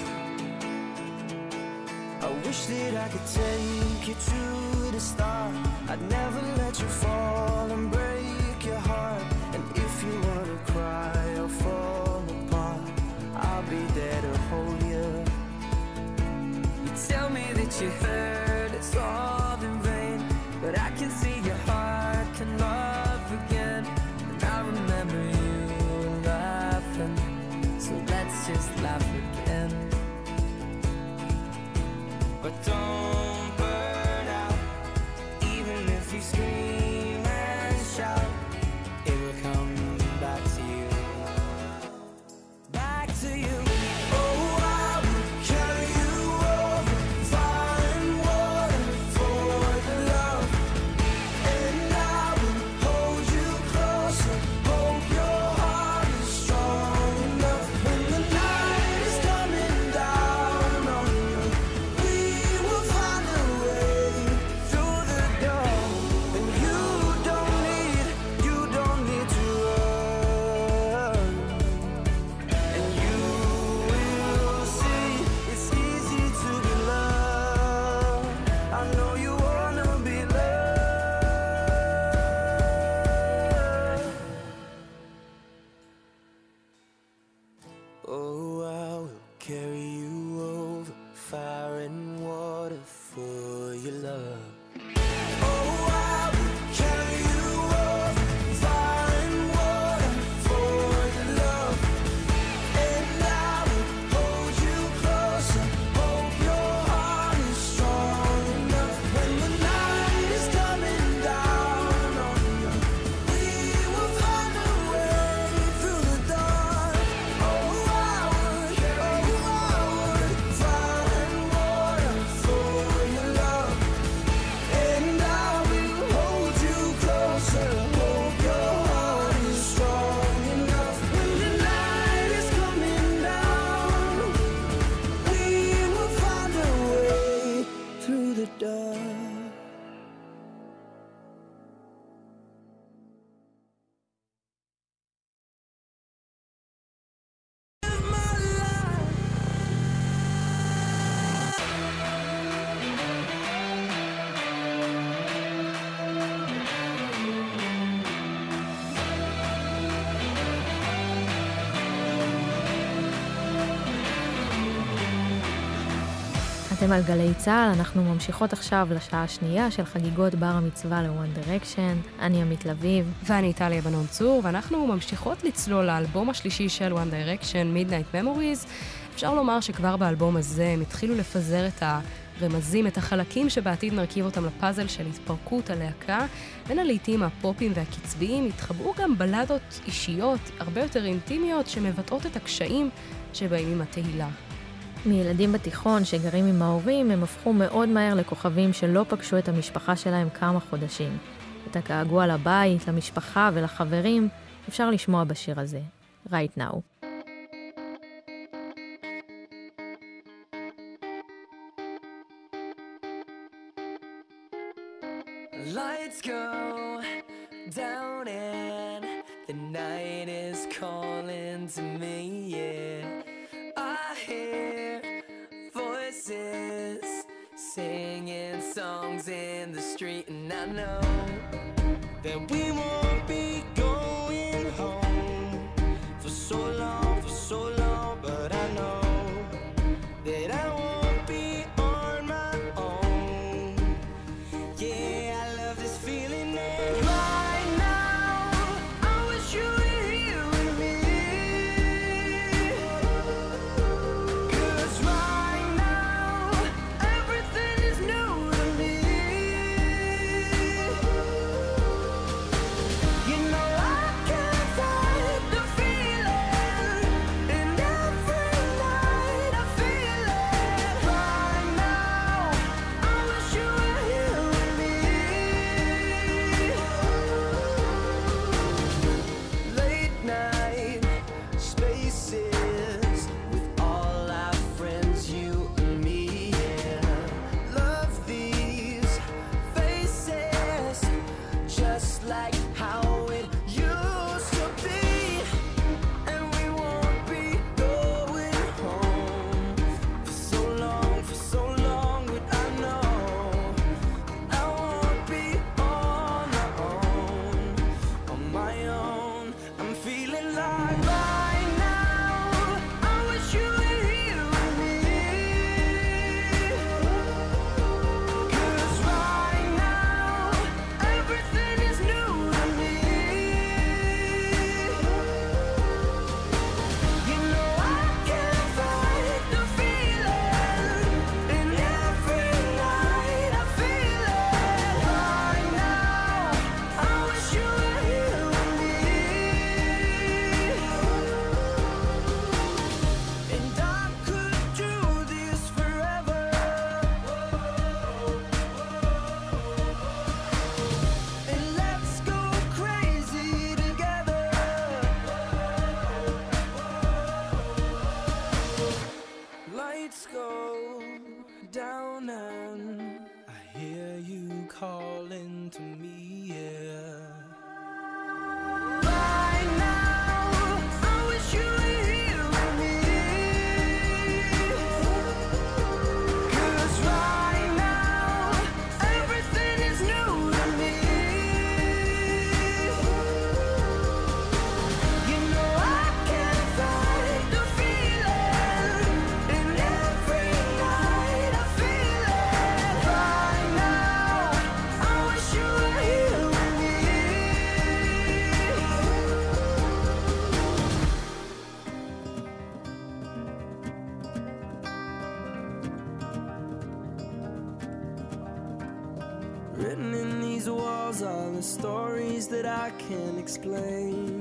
I wish that I could take you to the start. I'd never let you fall and break your heart. And if you wanna cry or fall apart, I'll be there to hold you. You tell me that you hurt, it's all in vain, but I can see your heart can love again. And I remember you laughing, so let's just laugh again. But don't burn out, even if you scream and shout, it will come back to you, back to you. Oh, I will carry you over fire and אתם על גלי צהל, אנחנו ממשיכות עכשיו לשעה השנייה של חגיגות בר המצווה ל-One Direction. אני עמית לביב. ואני טליה בנון צור, ואנחנו ממשיכות לצלול לאלבום השלישי של One Direction, Midnight Memories. אפשר לומר שכבר באלבום הזה הם התחילו לפזר את הרמזים, את החלקים שבעתיד נרכיב אותם לפאזל של התפרקות הלהקה. בין הלעיתים הפופים והקצביים התחבאו גם בלדות אישיות, הרבה יותר אינטימיות, שמבטאות את הקשיים שבאים עם התהילה. מילדים בתיכון שגרים עם ההורים, הם הפכו מאוד מהר לכוכבים שלא פגשו את המשפחה שלהם כמה חודשים. את הגעגוע לבית, למשפחה ולחברים אפשר לשמוע בשיר הזה, Right Now. Lights go down and the night is calling to me, yeah. I hear voices singing songs in the street, and I know that we won't be going home for so long, but I know that I won't be on my own. Yeah, I love this feeling right now. I wish you were here with me. 'Cause right now everything is new to me. You know I can't fight the feeling, and every night I feel it. Right now I wish you were here with me. Late night spaces with all our friends, you and me, yeah. Love these faces, just like how it used to be. And we won't be going home for so long, but I know I won't be on my own. I'm feeling like right now I wish you were here with me. 'Cause right now everything is new to me. You know I can't fight the feeling, and every night I feel it. Right now I wish you were here with me. And I could do this forever. And let's go crazy together. Lights go down and I hear you calling to me, yeah. Right now I wish you were here with me. 'Cause right now everything is new to me. You know I can't fight the feeling, and every night I feel it. Right now I wish you were here with me. Written in these walls are the stories that I can't explain.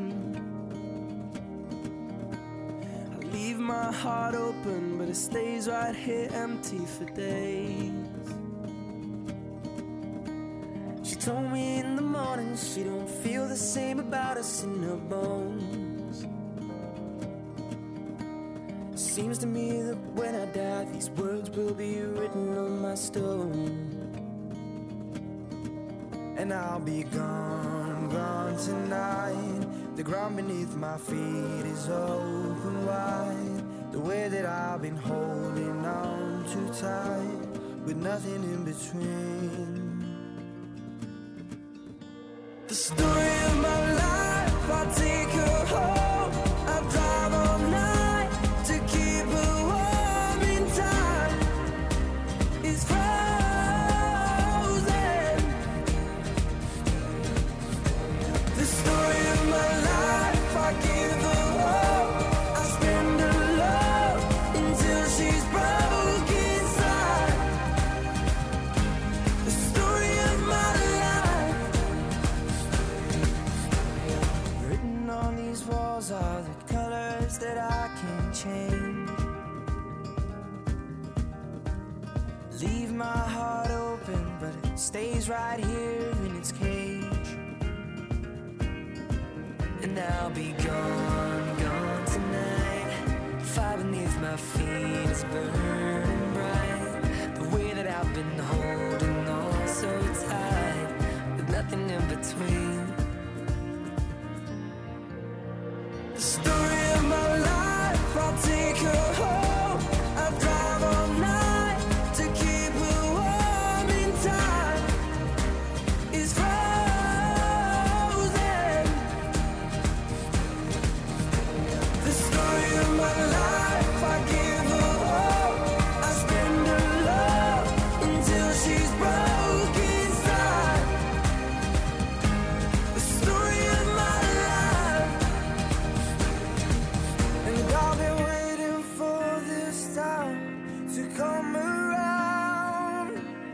I leave my heart open, but it stays right here empty for days. She told me in the morning she don't feel the same about us in her bones. Seems to me that when I die, these words will be written on my stone. And I'll be gone, gone tonight. The ground beneath my feet is open wide. The way that I've been holding on too tight, with nothing in between. The story of my life, I'll take her home. I'll drive all night to keep her warm in time. stays right here in its cage. And I'll be gone, gone tonight. Fire beneath my feet is burning bright. The way that I've been holding on so tight, with nothing in between. The story of my life, I'll take her home. I'll drive all night to keep her warm in time. Is frozen. The story of my life, I give her hope. I spend her love until she's broke inside. The story of my life. And I've been waiting for this time to come around.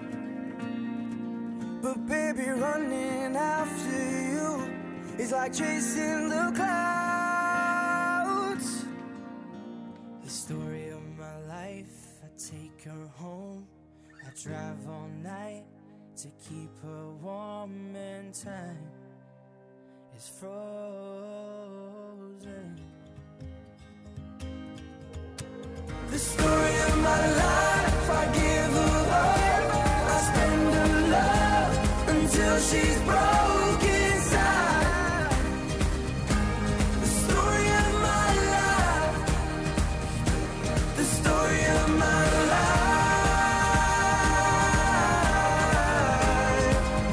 But baby, running after you is like chasing the clouds. The story of my life, I take her home. I drive all night to keep her warm and time is frozen. The story of my life, I give her hope. I spend her love until she's broke inside. The story of my life. The story of my life.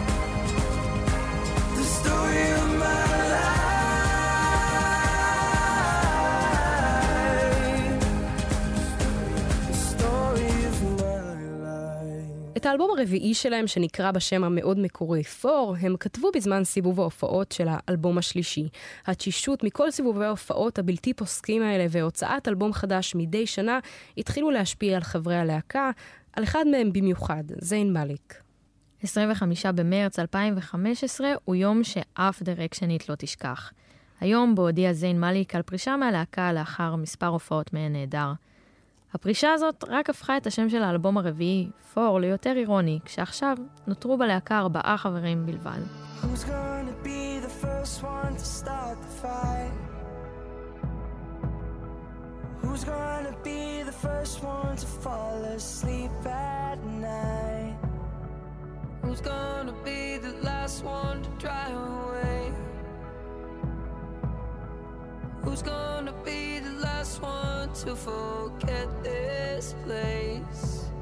The story of my life. The story of my life. את האלבום הרביעי שלהם, שנקרא בשם המאוד מקורי פור, הם כתבו בזמן סיבוב ההופעות של האלבום השלישי. התשישות מכל סיבובי ההופעות הבלתי פוסקים האלה והוצאת אלבום חדש מדי שנה התחילו להשפיע על חברי הלהקה, על אחד מהם במיוחד, זיין מאליק. 25 במרץ 2015 הוא יום שאף דירקשנית לא תשכח. היום בו הודיע זיין מאליק על פרישה מהלהקה לאחר מספר הופעות מהן נהדר. הפרישה הזאת רק הפכה את השם של האלבום הרביעי, פור, ליותר אירוני, כשעכשיו נותרו בלהקה 4 חברים בלבד. Who's gonna be the first one to start the fight? Who's gonna be the first one to fall asleep at night? Who's gonna be the last one to drive away? Who's gonna be the last one to forget this place?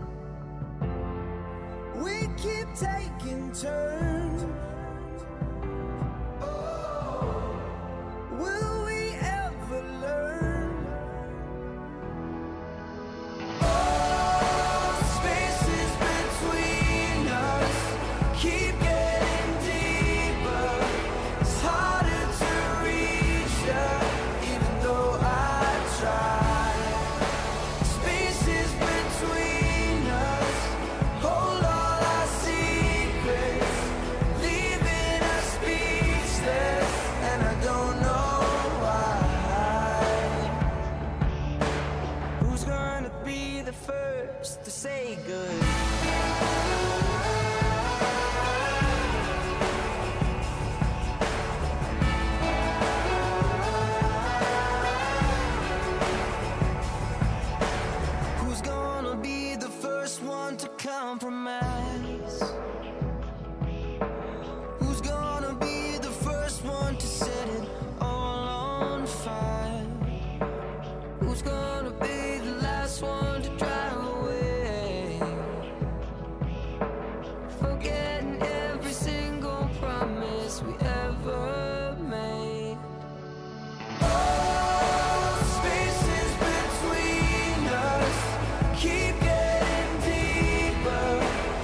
We keep taking turns. Will we ever learn? Spaces between us keep getting deeper. It's harder to reach you, even though I try. Spaces between us hold all our secrets, leaving us speechless, and I don't know why. Who's gonna be the first to say good? Who's gonna be the first one to compromise? Who's gonna be the first one to set it all on fire? Who's gonna be the last one to drive away? Forgetting every single promise we ever made. Spaces between us keep getting deeper.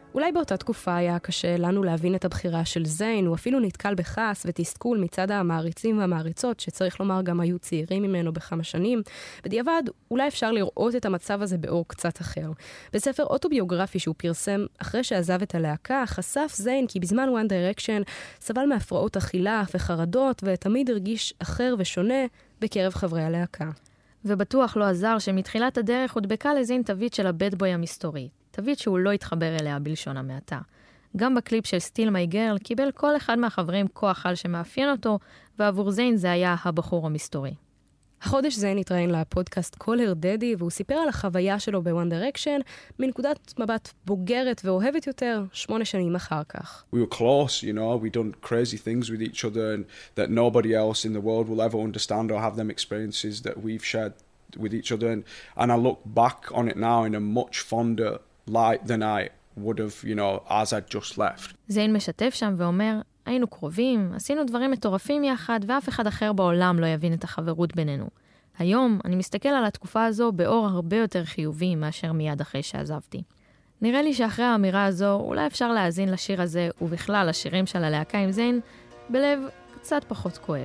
אולי באותה תקופה היה קשה לנו להבין את הבחירה של זיין, הוא אפילו נתקל בכעס ותסכול מצד המעריצים והמעריצות, שצריך לומר גם היו צעירים ממנו בכמה שנים. בדיעבד, אולי אפשר לראות את המצב הזה באור קצת אחר. בספר אוטוביוגרפי שהוא פרסם אחרי שעזב את הלהקה, חשף זיין כי בזמן One Direction סבל מהפרעות אכילה וחרדות, ותמיד הרגיש אחר ושונה בקרב חברי הלהקה. ובטוח לא עזר שמתחילת הדרך הודבקה לזיין תווית של הבד בוי המסתורי. תווית שהוא לא התחבר אליה בלשון המעטה. גם בקליפ של סטיל מי גרל קיבל כל אחד מהחברים כוח על שמאפיין אותו, ועבור זיין זה היה הבחור המסתורי. החודש זיין התראיין לפודקאסט Call Her Daddy, והוא סיפר על החוויה שלו ב-One Direction מנקודת מבט בוגרת ואוהבת יותר 8 שנים אחר כך. We were close, you know, we done crazy things with each other and that nobody else in the world will ever understand or have them experiences that we've shared with each other. And I look back on it now in a much fonder light than I would have, you know, as I'd just left. זיין משתף שם ואומר, היינו קרובים, עשינו דברים מטורפים יחד, ואף אחד אחר בעולם לא יבין את החברות בינינו. היום אני מסתכל על התקופה הזו באור הרבה יותר חיובי מאשר מיד אחרי שעזבתי. נראה לי שאחרי האמירה הזו, אולי אפשר להאזין לשיר הזה, ובכלל לשירים של הלהקה עם זיין, בלב קצת פחות כואב.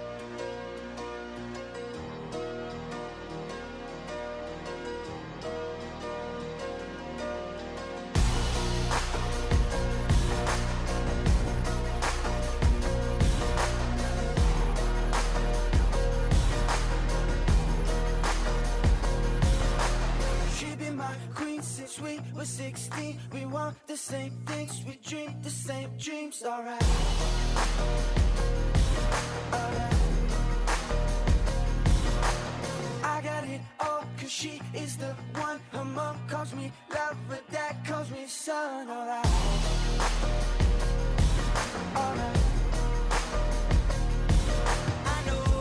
We were 16, we want the same things, we dream the same dreams, alright. Alright. I got it all, cause she is the one. Her mom calls me love, but dad calls me son, alright. Alright. I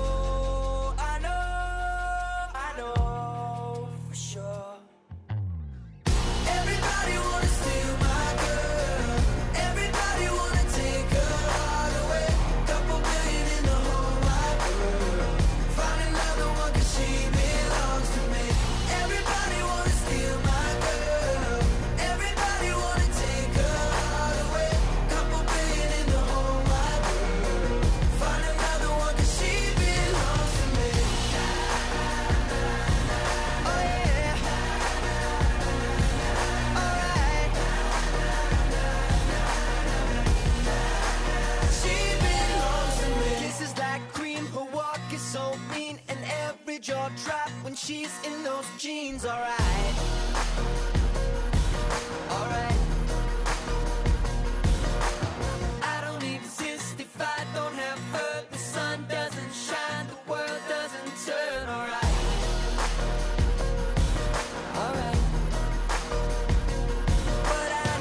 know for sure. Everybody wanna steal my girl. Everybody wanna take her heart away. Couple billion in the whole wide world. Find another one 'cause she belongs to me. Everybody wanna steal my girl. Everybody wanna take her heart away. Couple billion in the whole wide world. Find another one 'cause she belongs to me. Oh yeah. So mean and every jaw drop when she's in those jeans, alright. Alright. I don't exist if I don't have her. The sun doesn't shine, the world doesn't turn, alright. Alright. But I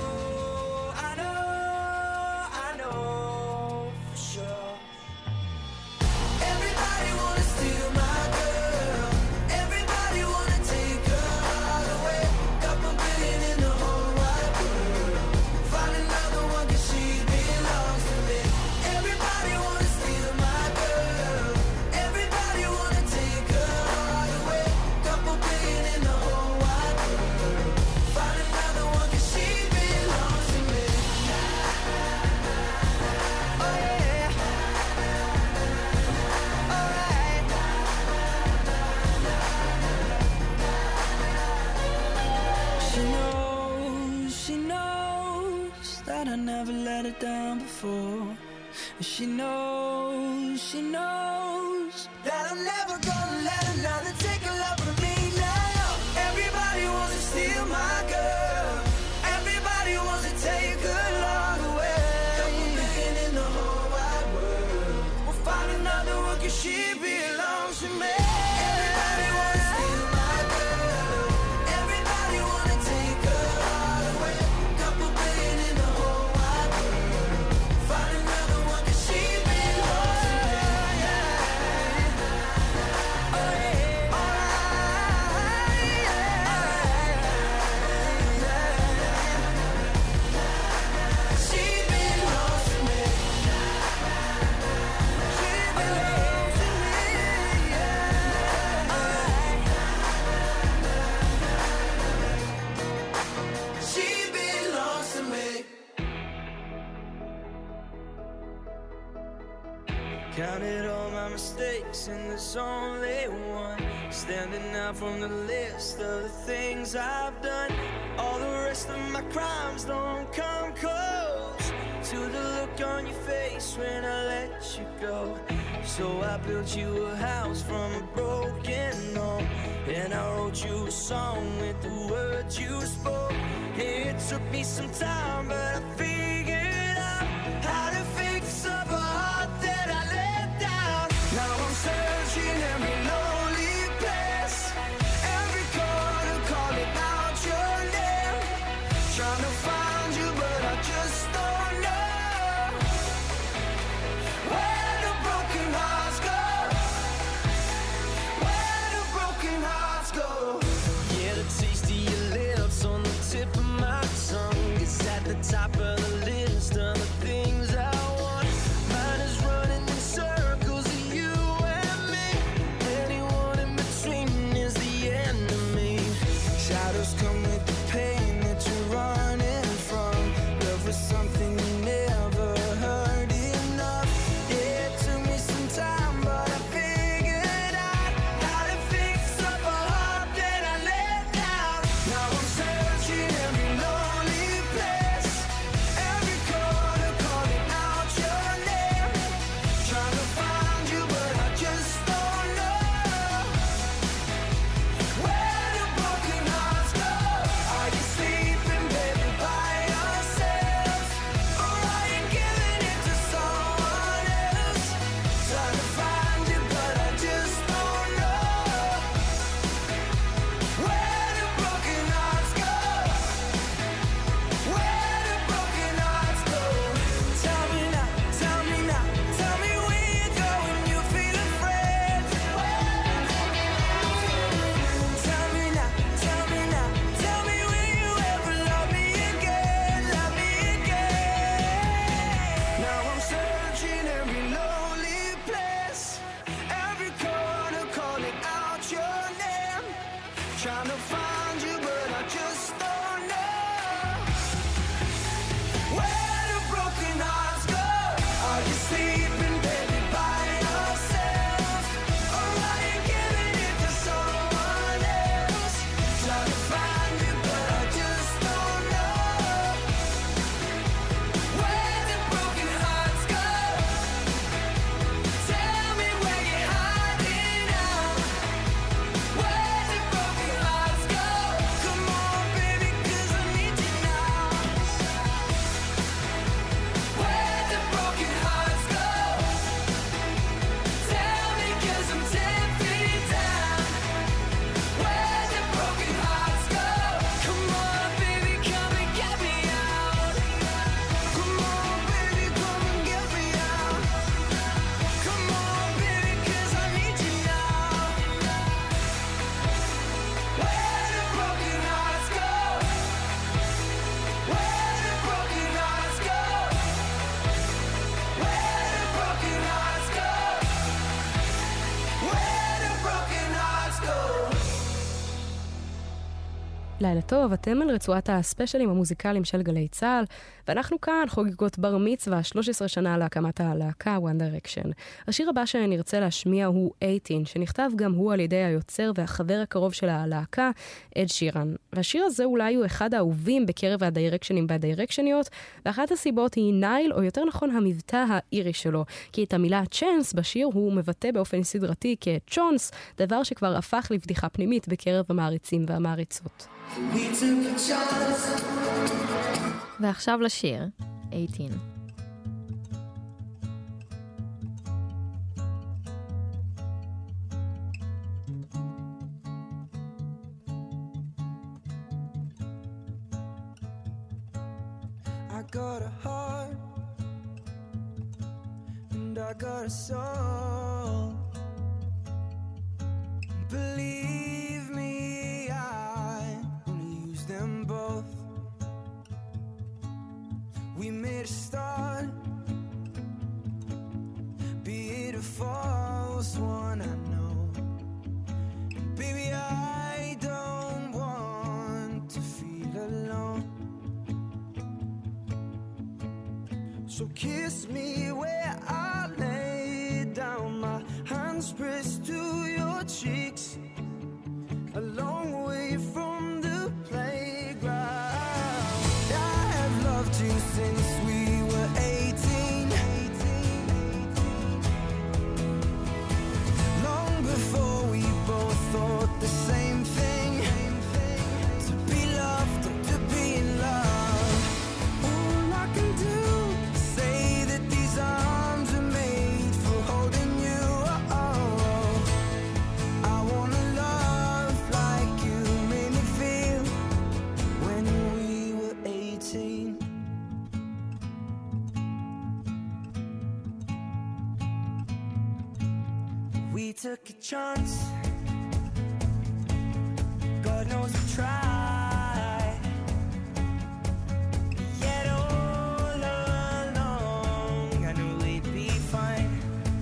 know for sure. Everybody wanna steal my girl. Everybody wanna take her heart away. Couple billion in the whole wide world. Find another one 'cause she belongs to me. Everybody wanna steal my girl. Everybody wanna take her heart away. Couple billion in the whole wide world. Find another one 'cause she belongs to me. Oh yeah. She knows that I never let her down before. She knows that I'm never gonna let another take a love from me now. Everybody wants to steal my girl. Everybody wants to take her love away. Couple billion in the whole wide world. We'll find another one 'cause she belongs to me. Everybody wants to steal my girl. Everybody wanna take her heart away. Couple billion in the whole wide world. Find another one 'cause she belongs to me. Yeah. Counted all my mistakes and there's only one standing out from the list of the things I've done. All the rest of my crimes don't come close to the look on your face when I let you go. So I built you a house from a broken home, and I wrote you a song with the words you spoke. It took me some time, but I figured out how to fix up a heart that I let down. Now I'm searching every lonely place, every corner calling out your name, trying to find you, but I just don't know where the broken hearts go, where the broken hearts go. Yeah, the taste of your lips on the tip of my tongue is at the top of the list of the things I want. Mine is running in circles of you and me. Anyone in between is the enemy. Shadows come with the pain that you're running from. Love was something you never heard enough. Yeah, it took me some time, but I figured out how to fix up a heart that I let down. Now I'm searching every lonely place, every corner calling out your name, trying to find you, but I just don't know where the broken hearts go. Are you sleeping, baby, by yourself, or are you giving it to someone else? Trying to find you, but I just don't know where the broken hearts go, where the broken hearts go. Tell me now, tell me now, tell me where you go when you feel afraid. Tell me now, tell me now, tell me will you ever love me again, love me again. Now I'm searching every lonely place, every corner calling out your name, trying to find you, but I just don't know where the broken hearts go. Are you sleeping, baby, by yourself, or are you giving it to someone else? Trying to find you, but I just don't know where the broken hearts go. Tell me where you're hiding now, where the broken hearts go. Come on, baby, 'cause I need you now. Where the broken hearts go. Tell me 'cause I'm 10 feet down. Where the broken hearts go. Come on, baby, come and get me out. Come on, baby, come and get me out. Come on, baby, 'cause I need you now. Where the broken hearts go. Where the broken hearts go. Where the broken hearts go. Where the broken hearts go. לילה טוב, אתם על רצועת הספיישלים המוזיקליים של גלי צהל, ואנחנו כאן חוגגות בר מצווה 13 שנה להקמת הלהקה One Direction. השיר הבא שנרצה להשמיע הוא 18, שנכתב גם הוא על ידי היוצר והחבר הקרוב של הלהקה, אד שירן. והשיר הזה אולי הוא אחד האהובים בקרב הדיירקשנים והדיירקשניות, ואחת הסיבות היא נייל, או יותר נכון המבטא האירי שלו, כי את המילה צ'אנס בשיר הוא מבטא באופן סדרתי כצ'ונס, דבר שכבר הפך לבדיחה פנימית בקרב המעריצים והמעריצות. We took a chance. ועכשיו לשיר, 18. I got a heart and I got a soul. Believe me, I will use them both. We made a start, be it a false one, I know. Baby, I don't want to feel alone. So kiss me where I lay down, my hands pressed to your cheeks, a long way from the playground. I have loved you since we were 18, long before we both thought the same thing, to be loved and to be in love. All I can do is say that these arms are made for holding you. I wanna love like you made me feel when we were 18. We took a chance, God knows we tried, yet all along I knew we'd be fine.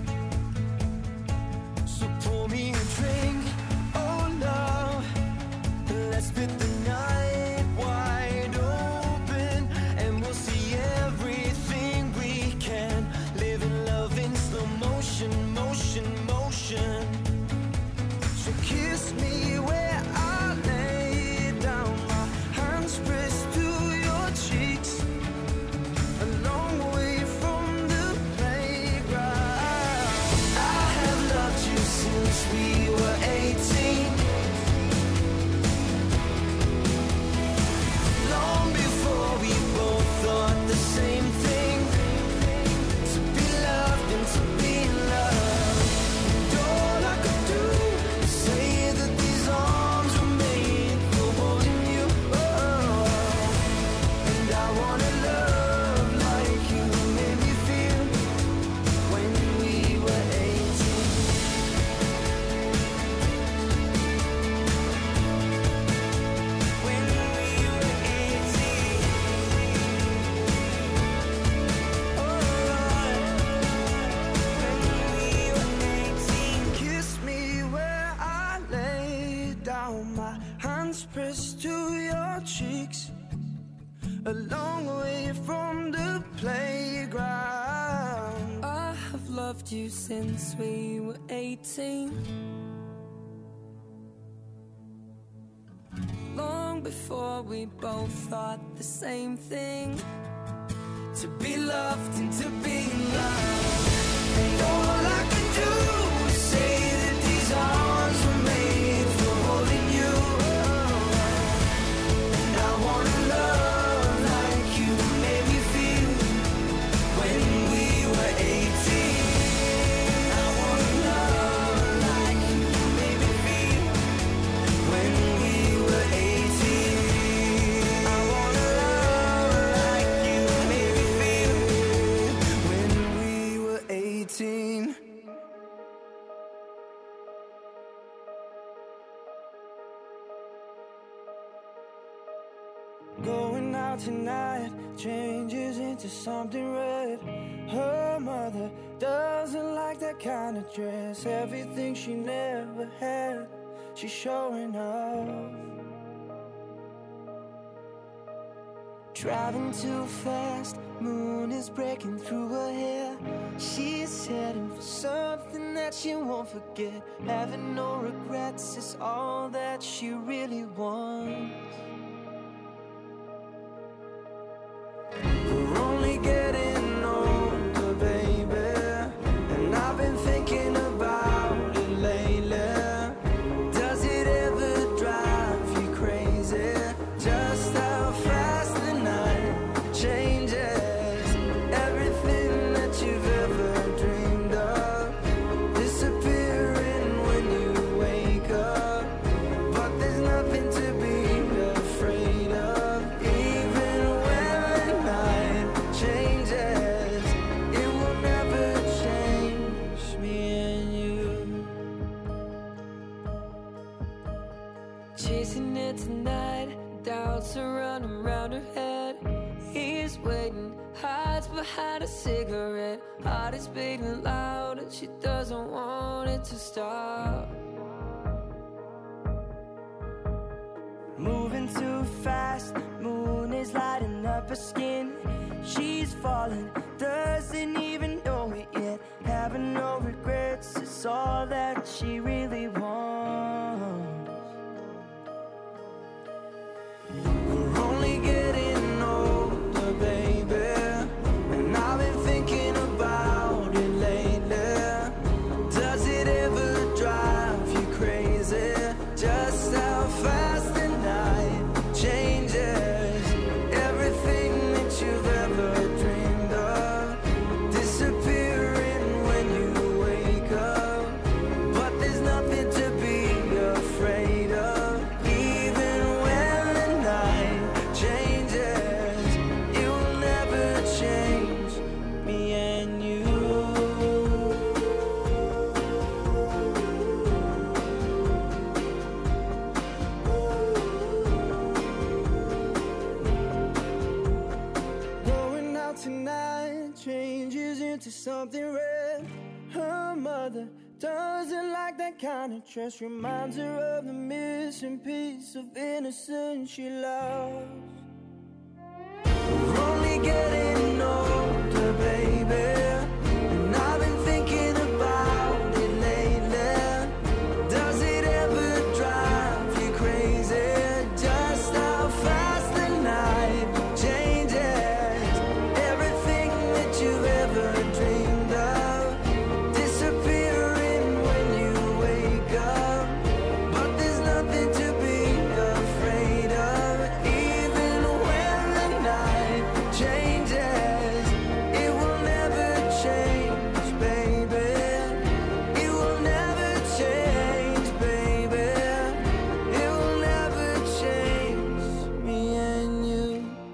So pour me a drink, oh love, let's spit the night wide open, and we'll see everything we can. Live in love in slow motion, motion, motion. So kiss me where I lay down, my hands pressed to your cheeks, a long way from the playground. I have loved you since we were 18, long before we both thought the same thing, to be loved and to be loved. And all I could do is say that these arms were made for holding you. And I wanna love like you made me feel when we were 18. When we were 18. Oh Lord, when we were 18. Kiss me where I lay down, my hands pressed to your cheeks, a long way from the playground. I have loved you since we were 18, long before we both thought the same thing, to be loved and to be loved. And all I can do is say that these arms were made for holding you. And I wanna love like you made me feel when we were 18. I wanna love like you made me feel when we were 18. I wanna love like you made me feel when we were 18. Going out tonight changes into something red. Her mother doesn't like that kind of dress. Everything she never had, she's showing off. Driving too fast, moon is breaking through her hair. She's heading for something that she won't forget. Having no regrets is all that she really wants. We're only getting older, baby, and I've been thinking about it lately. Does it ever drive you crazy, just how fast the night changes? Everything that you've ever dreamed of disappearing when you wake up, but there's nothing to be afraid of. Even when the night changes, it will never change me and you. Chasing it tonight, doubts are running round her head. He's waiting, hides behind a cigarette. Heart is beating loud and she doesn't want it to stop. Moving too fast, moon is lighting up her skin. She's falling, doesn't even know it yet. Having no regret. It's all that she really wants. We're only getting older, baby, and I've been thinking about it lately. Does it ever drive you crazy? Just how fast the night changes. Everything that you've ever dreamed of disappearing when you wake up. But there's nothing to be afraid of. Even when the night changes, it will never change me and you. Going out tonight changes into something red. Her mother doesn't like that kind of dress. Reminds her of the missing piece of innocence she lost. We're only getting older, baby, and I've been thinking about it lately. Does it ever drive you crazy? Just how fast the night changes. Everything that you've ever dreamed of disappearing when you wake up. But there's nothing to be afraid of. Even when the night changes, it will never change, baby. It will never change, baby. It will never change me and you.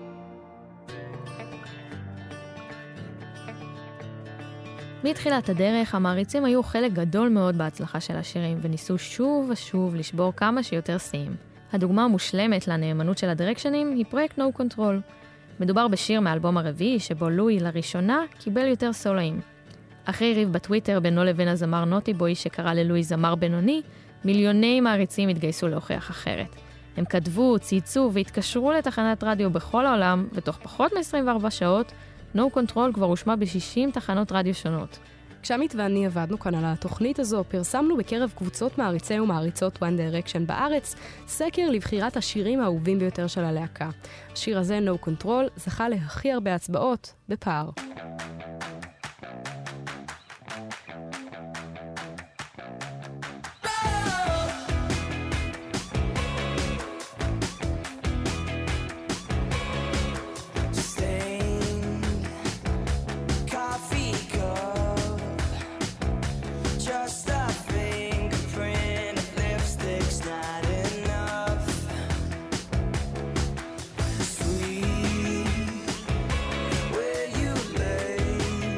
מתחילת הדרך, המעריצים היו חלק גדול מאוד בהצלחה של השירים, וניסו שוב ושוב לשבור כמה שיותר שיאים. הדוגמה המושלמת לנאמנות של הדירקשנים היא פרויקט No Control. מדובר בשיר מאלבום הרביעי, שבו לואי לראשונה קיבל יותר סולואים. אחרי ריב בטוויטר בינו לבין הזמר נוטי בוי שקרא ללואי זמר בינוני, מיליוני מעריצים התגייסו להוכיח אחרת. הם כתבו, צייצו והתקשרו לתחנת רדיו בכל העולם, ותוך פחות מ-24 שעות, No Control כבר הושמע ב-60 תחנות רדיו שונות. כשעמית ואני עבדנו כאן על התוכנית הזו, פרסמנו בקרב קבוצות מעריצי ומעריצות One Direction בארץ, סקר לבחירת השירים האהובים ביותר של הלהקה. השיר הזה, No Control, זכה להכי הרבה הצבעות בפער. Where you lay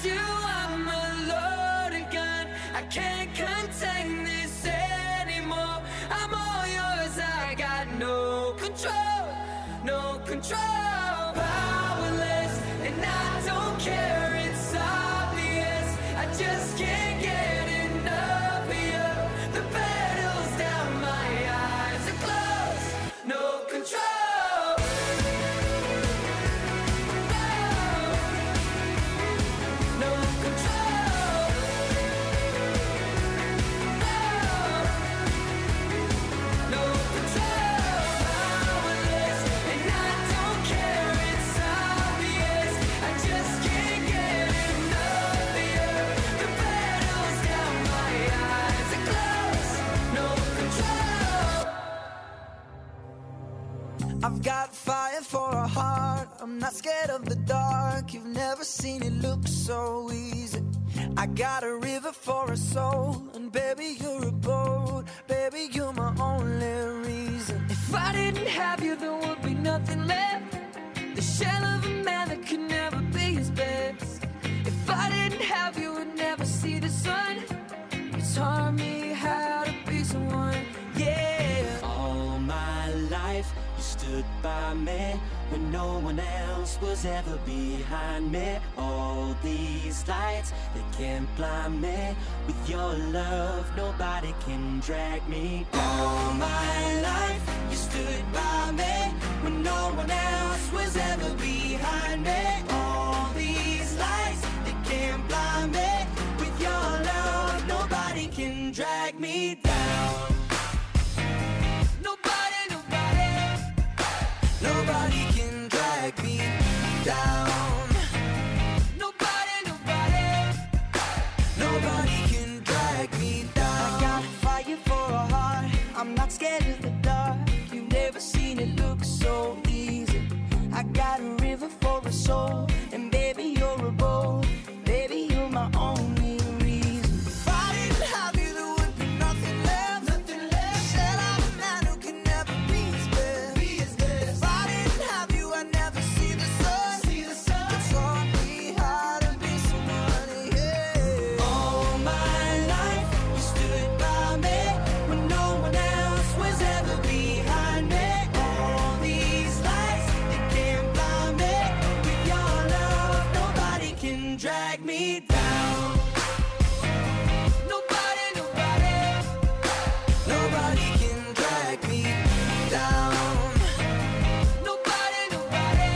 do, I'm a loaded gun. I can't contain this anymore. I'm all yours, I got no control, no control. Powerless, and I don't care, it's obvious. I just can't get enough of you. The pedals down, my eyes are closed, no control. No control. No control. Powerless, and I don't care, it's obvious. I just can't get enough of you. The pedals down, my eyes are closed, no control. I've got fire for a heart. I'm not scared of the dark. You've never seen it look so easy. I got a river for a soul, and baby you're a boat. Baby you're my only reason. If I didn't have you, there would be nothing left. The shell of a man that could never be his best. If I didn't have you, would never see the sun. You taught me how to be someone, yeah. All my life you stood by me when no one else was ever behind me. All these lights, they can't blind me. With your love, nobody can drag me. All my life you stood by me when no one else was ever behind me. All these lights, they can't blind me. With your love, nobody can drag me down. Nobody, nobody. Nobody can drag me down. Nobody, nobody. Nobody can drag me down. I got fire for a heart. I'm not scared of the dark. You've never seen it look so easy. I got a river for a soul, and baby you're a boat. Baby you're my only reason. If I didn't have you, there would be nothing left. Nothing left. Said I'm a man who can never be his best. Be his best. If I didn't have you, I'd never see the sun. See the sun. You taught me how to be someone, yeah. All my life you stood by me when no one else was ever behind me. All these lights, they can't blind me. With your love, nobody can drag me down. Nobody, nobody. Nobody can drag me down. Nobody, nobody.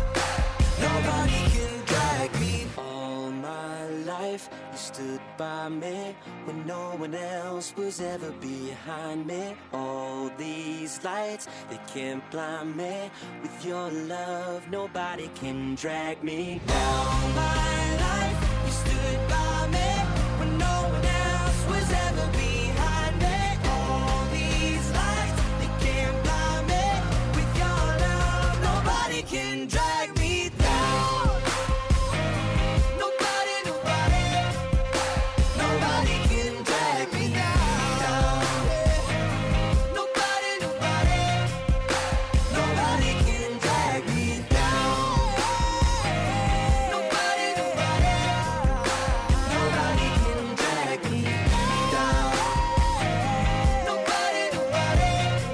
Nobody can drag me. All my life you stood by me when no one else was ever behind me. All these lights, they can't blind me. With your love, nobody can drag me down. All my life you stood by me when no one else was ever behind me. All these lights, they can't blind me. With your love, nobody can drag me down. Nobody, nobody. Nobody can drag me down. Nobody, nobody. Nobody can drag me down. Nobody, nobody. Nobody can drag me down. Nobody, nobody.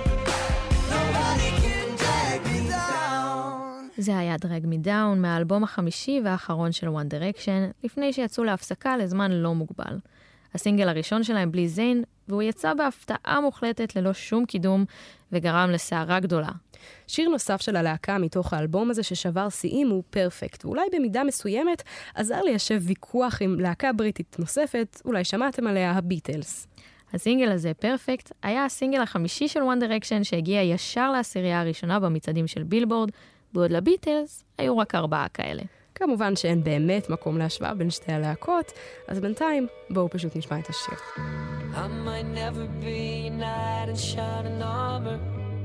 Nobody can drag me down. זה היה דרג מי דאון מהאלבום החמישי והאחרון של One Direction, לפני שיצאו להפסקה לזמן לא מוגבל. הסינגל הראשון שלהם בלי זיין, והוא יצא בהפתעה מוחלטת ללא שום קידום, וגרם לסערה גדולה. שיר נוסף של הלהקה מתוך האלבום הזה ששבר שיאים הוא פרפקט, ואולי במידה מסוימת עזר ליישב ויכוח עם להקה בריטית נוספת, אולי שמעתם עליה, הביטלס. הסינגל הזה, פרפקט, היה הסינגל החמישי של One Direction שהגיע ישר לעשירייה הראשונה במצעדים של בילבורד, בעוד לביטלס היו רק 4 כאלה. כמובן שאין באמת מקום להשוואה בין שתי הלהקות, אז בינתיים בואו פשוט נשמע את השיר. I might never be a knight in shining armor.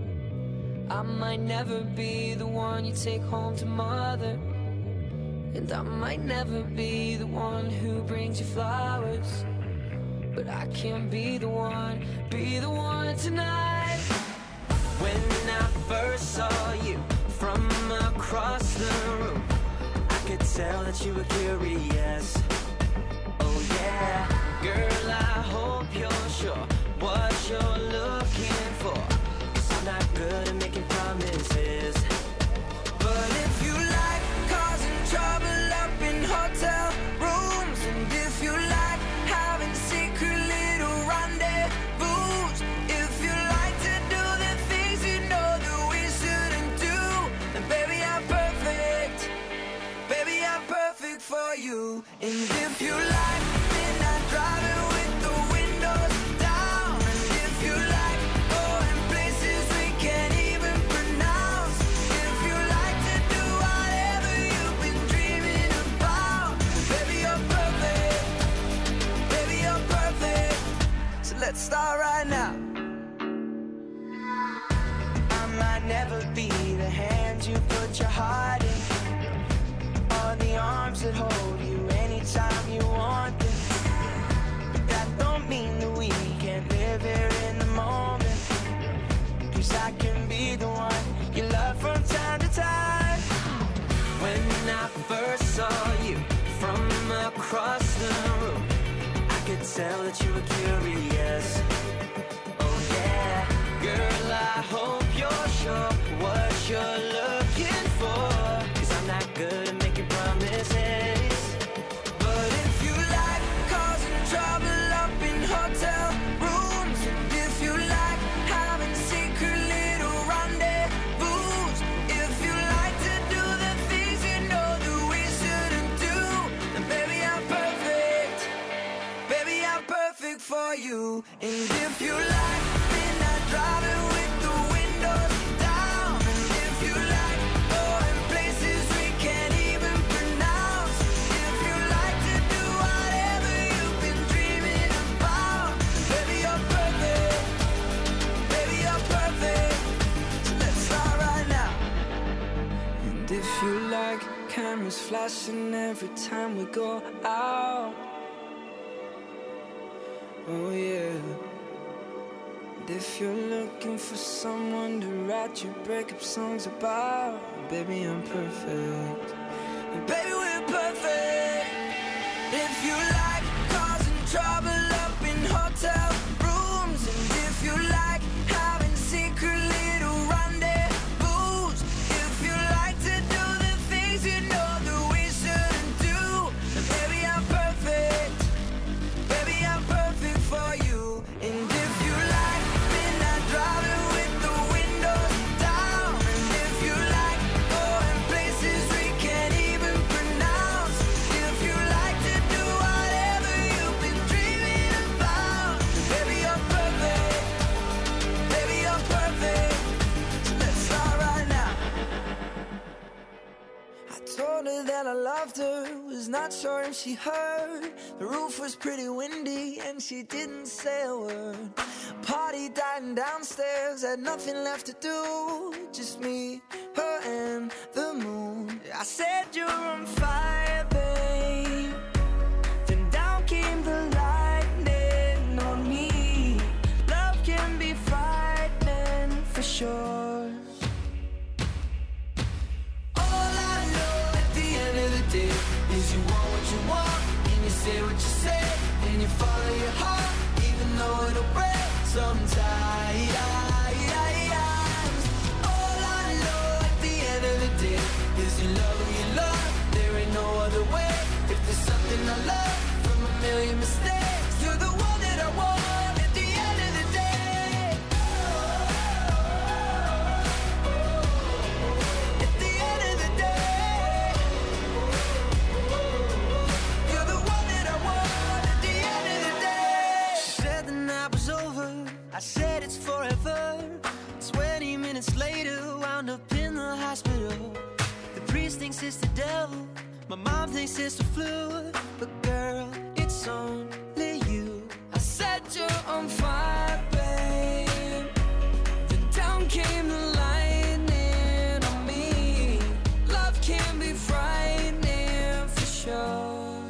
I might never be the one you take home to mother. And I might never be the one who brings you flowers. But I can be the one tonight. When I first saw you from across the room, I could tell that you were curious. Oh yeah, girl, I hope you're sure what you're looking for, 'cause I'm not good at making promises. But if you like causing trouble up in hotel rooms, and if you like having secret little rendezvous, if you like to do the things you know that we shouldn't do, then baby, I'm perfect. Baby, I'm perfect for you. And if you like midnight driving with the windows down, and if you like going places we can't even pronounce, if you like to do whatever you've been dreaming about, baby, you're perfect. Baby, you're perfect. So let's start right now. I might never be the hand you put your heart in, or the arms that hold you anytime you want them. But that don't mean that we can't live here in the moment, 'cause I can be the one you love from time to time. When I first saw you from across the room, I could tell that you were curious. Oh yeah, girl, I hope you're sure what you're looking for, 'cause I'm not good at making promises. But if you like causing trouble up in hotel rooms, and if you like having secret little rendezvous, if you like to do the things you know that we shouldn't do, then baby, I'm perfect. Baby, I'm perfect for you. And if you like midnight driving with the windows down, and if you like going places we can't even pronounce, if you like to do whatever you've been dreaming about, baby, you're perfect. Baby, you're perfect. So let's start right now. And if you like cameras flashing every time we go out, oh yeah. And if you're looking for someone to write your breakup songs about, baby, I'm perfect. And baby, we're perfect. If you like causing trouble up in hotel rooms, and if you like having secret little rendezvous, if you like to do the things you know that we shouldn't do, then baby, I'm perfect. Baby, I'm perfect for you. And if you like midnight driving with the windows down, and if you like going places we can't even pronounce, if you like to do whatever you've been dreaming about, baby, you're perfect. Baby, you're perfect. So let's start right now. I told her that I loved her, was not sure if she heard. The roof was pretty windy and she didn't say a word. Party dying downstairs, had nothing left to do, just me, her and the moon. I said you're on fire, babe. Then down came the lightning on me. Love can be frightening for sure. All I know at the end of the day is you want what you want, and you say what you say, and you follow your heart, even though it'll break sometimes. All I know at the end of the day is you love who you love, there ain't no other way. If there's something I love from a million mistakes, you're the one that I want at the end of the day. At the end of the day, you're the one that I want at the end of the day. She said the night was over, I said it's forever. 20 minutes later, wound up in the hospital. The priest thinks it's the devil, my mom thinks it's the flu, but girl, it's only you. I said you're on fire, babe. Then down came the lightning on me. Love can be frightening for sure.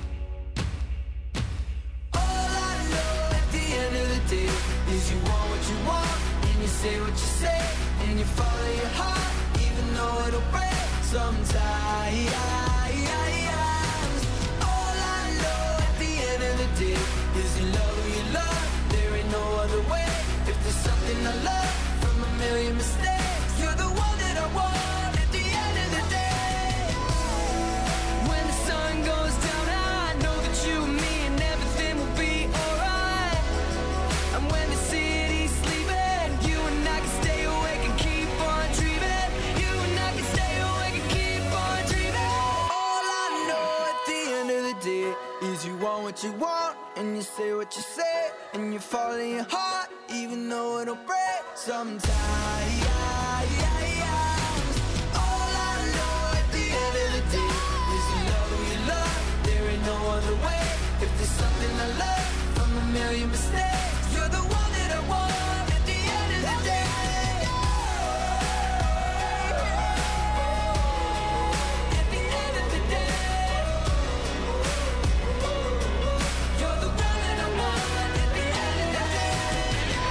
All I know at the end of the day is you want what you want, and you say what you say, and you follow your heart, even though it'll break sometimes. it is you want what you want, and you say what you say, and you fall in your heart, even though it'll break sometimes. All I know at the end of the day is you love who you love, there ain't no other way. If there's something I love from a million mistakes, you're the one that I want at the end of the day. At the end of the day, you're the one that I want at the end of the day.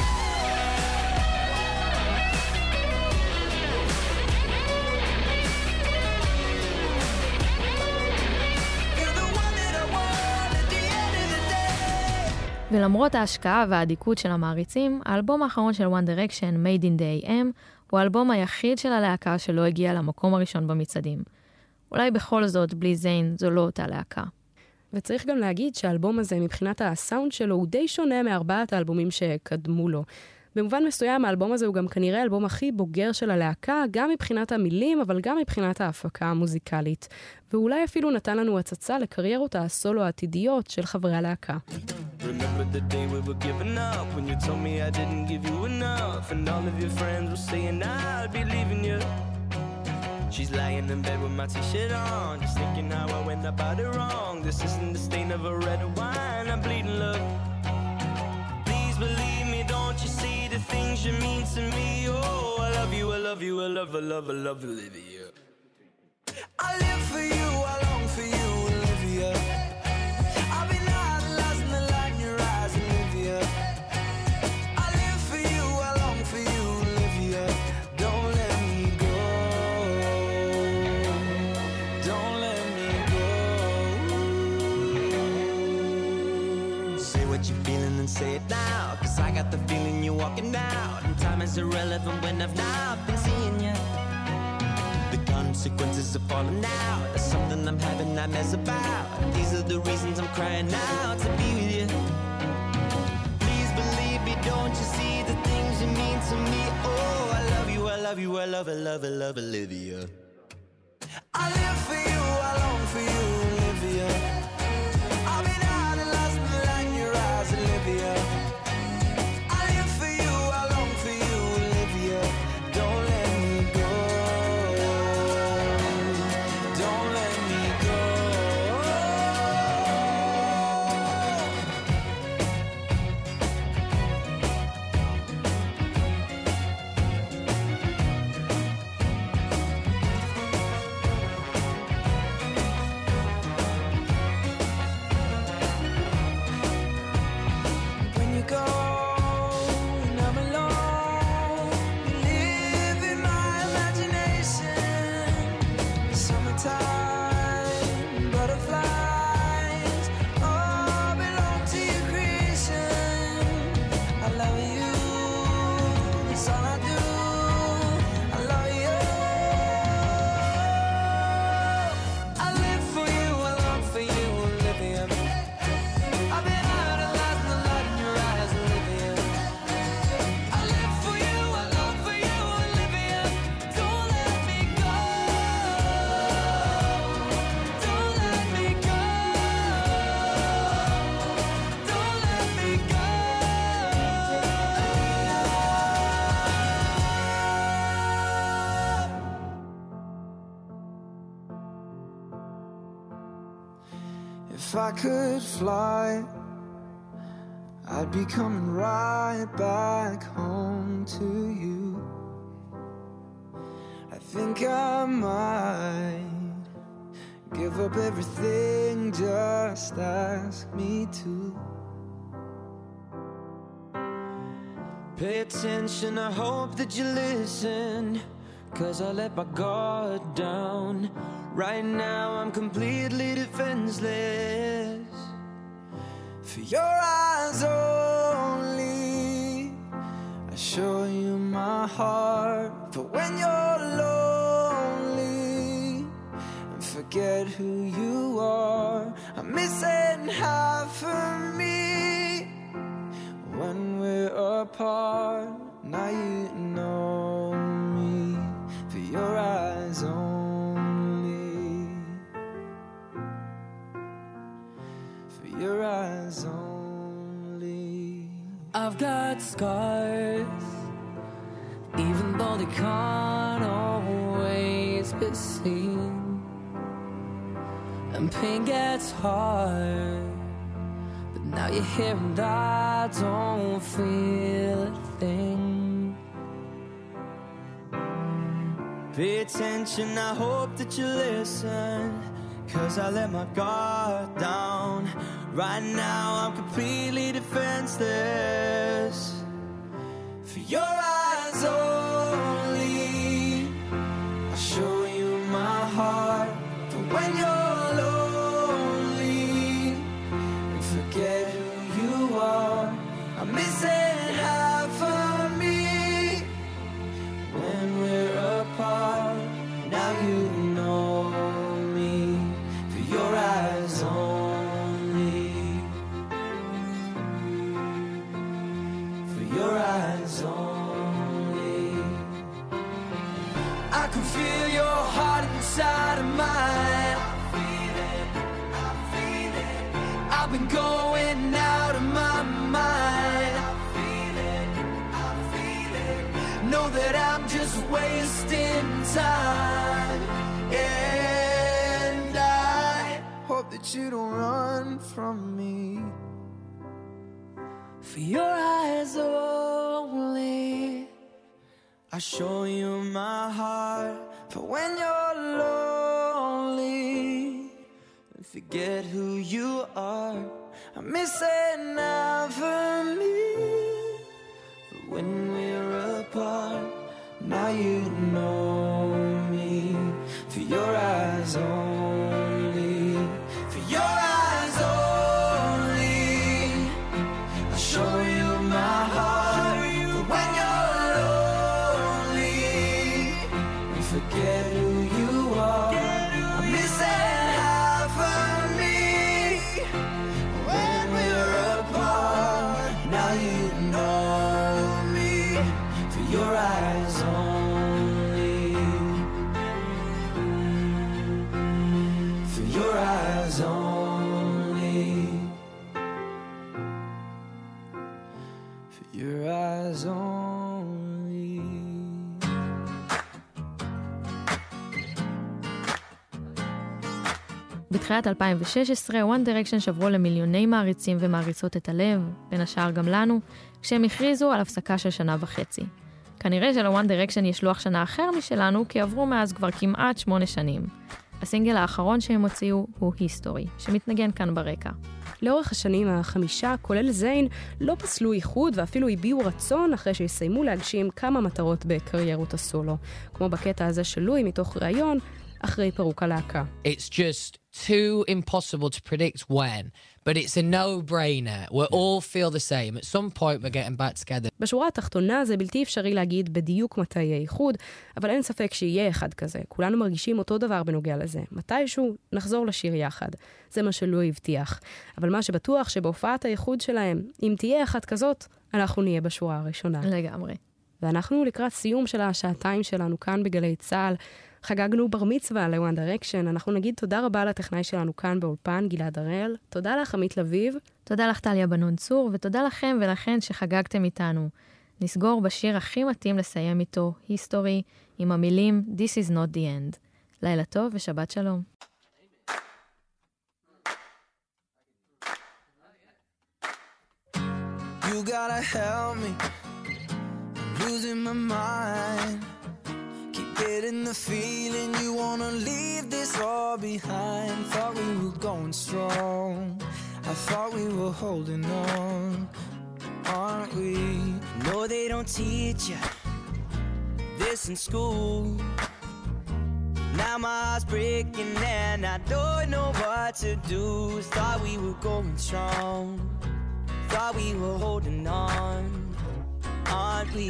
You're the one that I want at the end of the day. ולמרות ההשקעה והאדיקות של המעריצים, האלבום האחרון של One Direction, Made in the AM, הוא האלבום היחיד של הלהקה שלא הגיע למקום הראשון במצעדים. אולי בכל זאת, בלי זיין, זו לא אותה להקה. וצריך גם להגיד שהאלבום הזה, מבחינת הסאונד שלו, הוא די שונה מארבעת האלבומים שקדמו לו. במובן מסוים, האלבום הזה הוא גם כנראה האלבום הכי בוגר של הלהקה, גם מבחינת המילים, אבל גם מבחינת ההפקה המוזיקלית. ואולי אפילו נתן לנו הצצה לקריירות הסולו העתידיות של חברי הלהקה. Remember the day we were giving up, when you told me I didn't give you enough, and all of your friends were saying I'll be leaving you. She's lying in bed with my t-shirt on, just thinking how I went about it wrong. This isn't the stain of a red wine, I'm bleeding love. Please believe me, don't you see the things you mean to me? Oh, I love you, I love you, I love, I love, I love Olivia. I live for you, I long for you, Olivia. I've been idolizing the light in your eyes, Olivia. I live for you, I long for you, Olivia. Don't let me go. Don't let me go. Say what you're feeling and say it now, 'cause I got the feeling you're walking out, and time is irrelevant when I've not been seeing you. The consequences of falling out, that's something I'm having nightmares about. These are the reasons I'm crying out to be with you. Please believe me, don't you see the things you mean to me? Oh, I love you, I love you, I love, I love, I love Olivia. I live for you, I long for you, Olivia. I've been idolizing the light in your eyes, Olivia. I live for you, I long for you, Olivia. Don't let me go. Don't let me go. When you go and I'm alone, live in my imagination. Summertime, butterflies, all belong to your creation. I love you, that's all I do. I love you. I live for you, I long for you, Olivia. I've been idolizing the light in your eyes, Olivia. I live for you, I long for you, Olivia. Don't let me go. Don't let me go. Don't let me go. If I could fly, I'd be coming right back home to you. I think I might give up everything, just ask me to. Pay attention, I hope that you listen, 'cause I let my guard down. Right now I'm completely defenseless. For your eyes only, I show you my heart. For when you're lonely and forget who you are, I'm missing half of me when we're apart. Now you know me for your eyes only. for your eyes only. I've got scars, even though they can't always be seen. And pain gets hard, but now you're here and I don't feel a thing. Pay attention, I hope that you listen, 'cause I let my guard down. Right now I'm completely defenseless. For your eyes only, I'll show you my heart. But when you're lonely and forget who you are, I'm missing half of me. When we're apart, now you know me. For your eyes only, for your eyes only. I can feel your heart inside of mine. I feel it, I feel it. I've been going out of my mind. I feel it, I feel it. Know that I'm just wasting time. And I hope that you don't run from me. For your eyes only, I show you my heart. For when you're lonely and forget who you are, I'm missing out for me. But when we're apart, now you know me. For your eyes only, for your eyes only, I'll show you my heart. But when you're lonely and forget who you are, I'm missing half of me. When we're apart, now you know me. For your eyes only, for your eyes only, for your eyes only. בתחילת 2016, One Direction שברו למיליוני מעריצים ומעריצות את הלב, בין השאר גם לנו, כשהם הכריזו על הפסקה של שנה וחצי. כנראה שלוואן דירקשן יש לוח שנה אחר משלנו, כי עברו מאז כבר כמעט 8 שנים. הסינגל האחרון שהם הוציאו הוא היסטורי, שמתנגן כאן ברקע. לאורך השנים החמישה, כולל זיין, לא פסלו איחוד ואפילו הביעו רצון אחרי שיסיימו להגשים כמה מטרות בקריירות הסולו. כמו בקטע הזה של לואי מתוך ראיון, אחרי פירוק הלהקה. It's just too impossible to predict when, but it's a no-brainer. We'll all feel the same. At some point we're getting back together. בשורה התחתונה זה בלתי אפשרי להגיד בדיוק מתי יהיה איחוד, אבל אין ספק שיהיה אחד כזה. כולנו מרגישים אותו דבר בנוגע לזה. מתישהו נחזור לשיר יחד. זה מה שלואי הבטיח. אבל מה שבטוח שבהופעת האיחוד שלהם, אם תהיה אחת כזאת, אנחנו נהיה בשורה הראשונה. לגמרי. ואנחנו לקראת סיום של השעתיים שלנו כאן בגלי צהל. חגגנו בר מצווה לוואן דירקשן. אנחנו נגיד תודה רבה לטכנאי שלנו כאן באולפן, גלעד הראל. תודה לך, עמית לביב. תודה לך, טליה בנון צור, ותודה לכם ולכן שחגגתם איתנו. נסגור בשיר הכי מתאים לסיים איתו, היסטורי, עם המילים This is not the end. לילה טוב ושבת שלום. You gotta help me, I'm losing my mind. Keep getting the feeling you wanna leave this all behind. Thought we were going strong, I thought we were holding on, aren't we? No, they don't teach you this in school. Now my heart's breaking and I don't know what to do. Thought we were going strong, thought we were holding on, aren't we?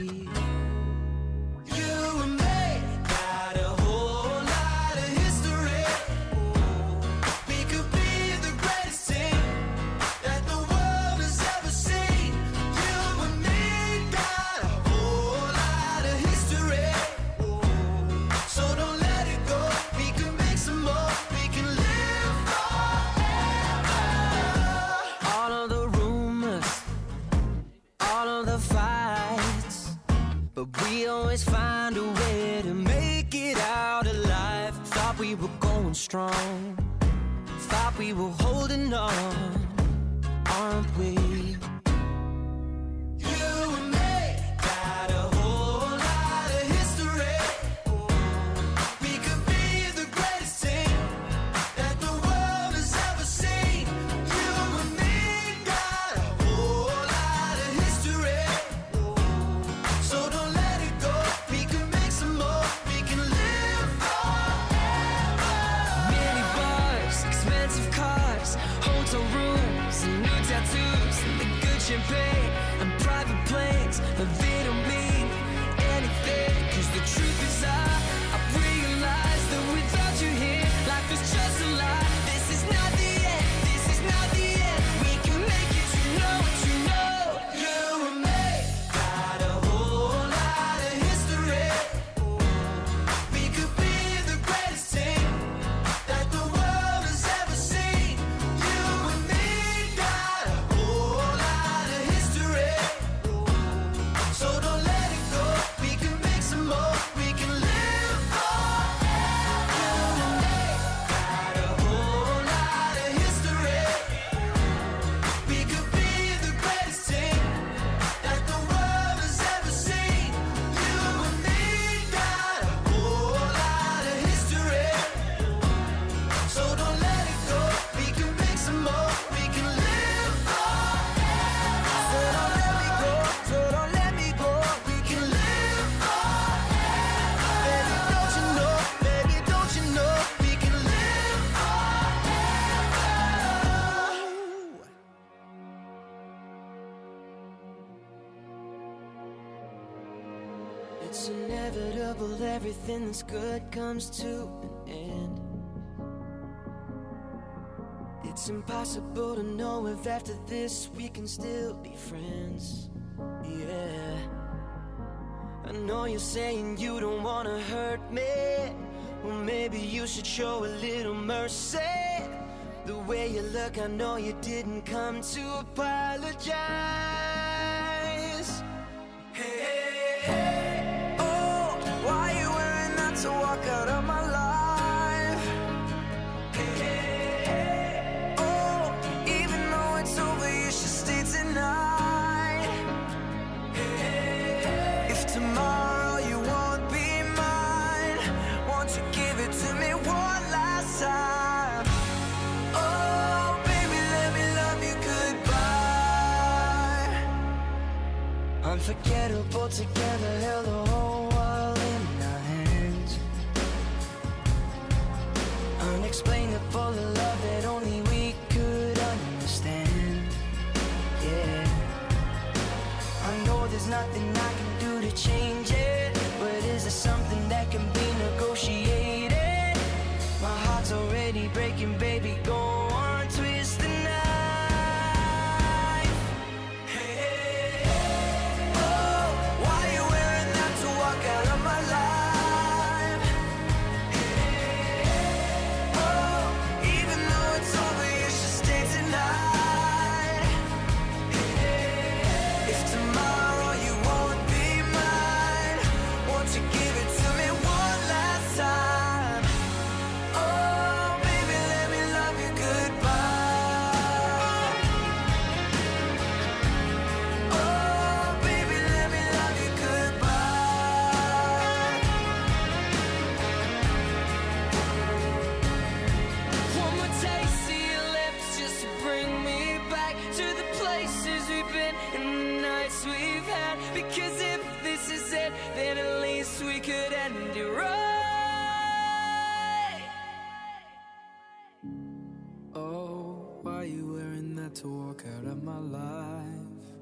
You and me got a whole lot of history. We could be the greatest team that the world has ever seen. You and me got a whole lot of history. So don't let it go. We can make some more. We can live forever. going strong. Thought we were holding on, aren't we? You and me got a whole lot of history. We could be the greatest team that the world has ever seen. You and me got a whole lot of history. So don't let it go. We can make some more. We can live forever. Many bars, expensive cars, hotel rooms, and new tattoos, and the good champagne, and private planes. But they don't mean anything. 'Cause the truth is I've realized that without you here, life is just a lie. This is not the end. This is not the end. We can make it. You know what you know. You and me got a whole lot of history. We could be the greatest team that the world has ever seen. You and me got a whole lot of history. So don't let it go. We can make some more. We can live forever. You and me got a whole lot of history. We could be the greatest team that the world has ever seen. You and me got a whole lot of history. So don't let it go. We can make some more. We can live forever. So don't let me go. So don't let me go. We can live forever. Baby, don't you know? Baby, don't you know? We can live forever. It's inevitable, everything that's good comes to an end. It's impossible to know if after this we can still be friends. Yeah, I know you're saying you don't wanna hurt me. Well, maybe you should show a little mercy. The way you look, I know you didn't come to apologize. Hey, hey, hey. Oh, why you wearing that to walk out of my life? Hey, hey, hey. Oh, even though it's over, you should stay tonight. Hey, hey, hey. If tomorrow you won't be mine, won't you give it to me one last time? Oh, baby, let me love you goodbye. Unforgettable together, held the whole world in our hands. Unexplainable love that only we could understand. Yeah, I know there's nothing I can do to change it, but is there something that can be negotiated? My heart's already breaking, baby, go on, twist the knife. Hey, hey, hey. Oh, why you wearing that to walk out of my life? Hey, hey, hey. Oh, even though it's over, you should stay tonight. Hey, hey, hey. If tomorrow you won't be mine, won't you give it to me one last time? Oh, baby, let me love you goodbye. Oh, baby, let me love you goodbye. One more taste of your lips just to bring me back to the places we've been and the nights we've had. Because if this is it, then at least we could end it right. Oh, why you wearing that to walk out of my life?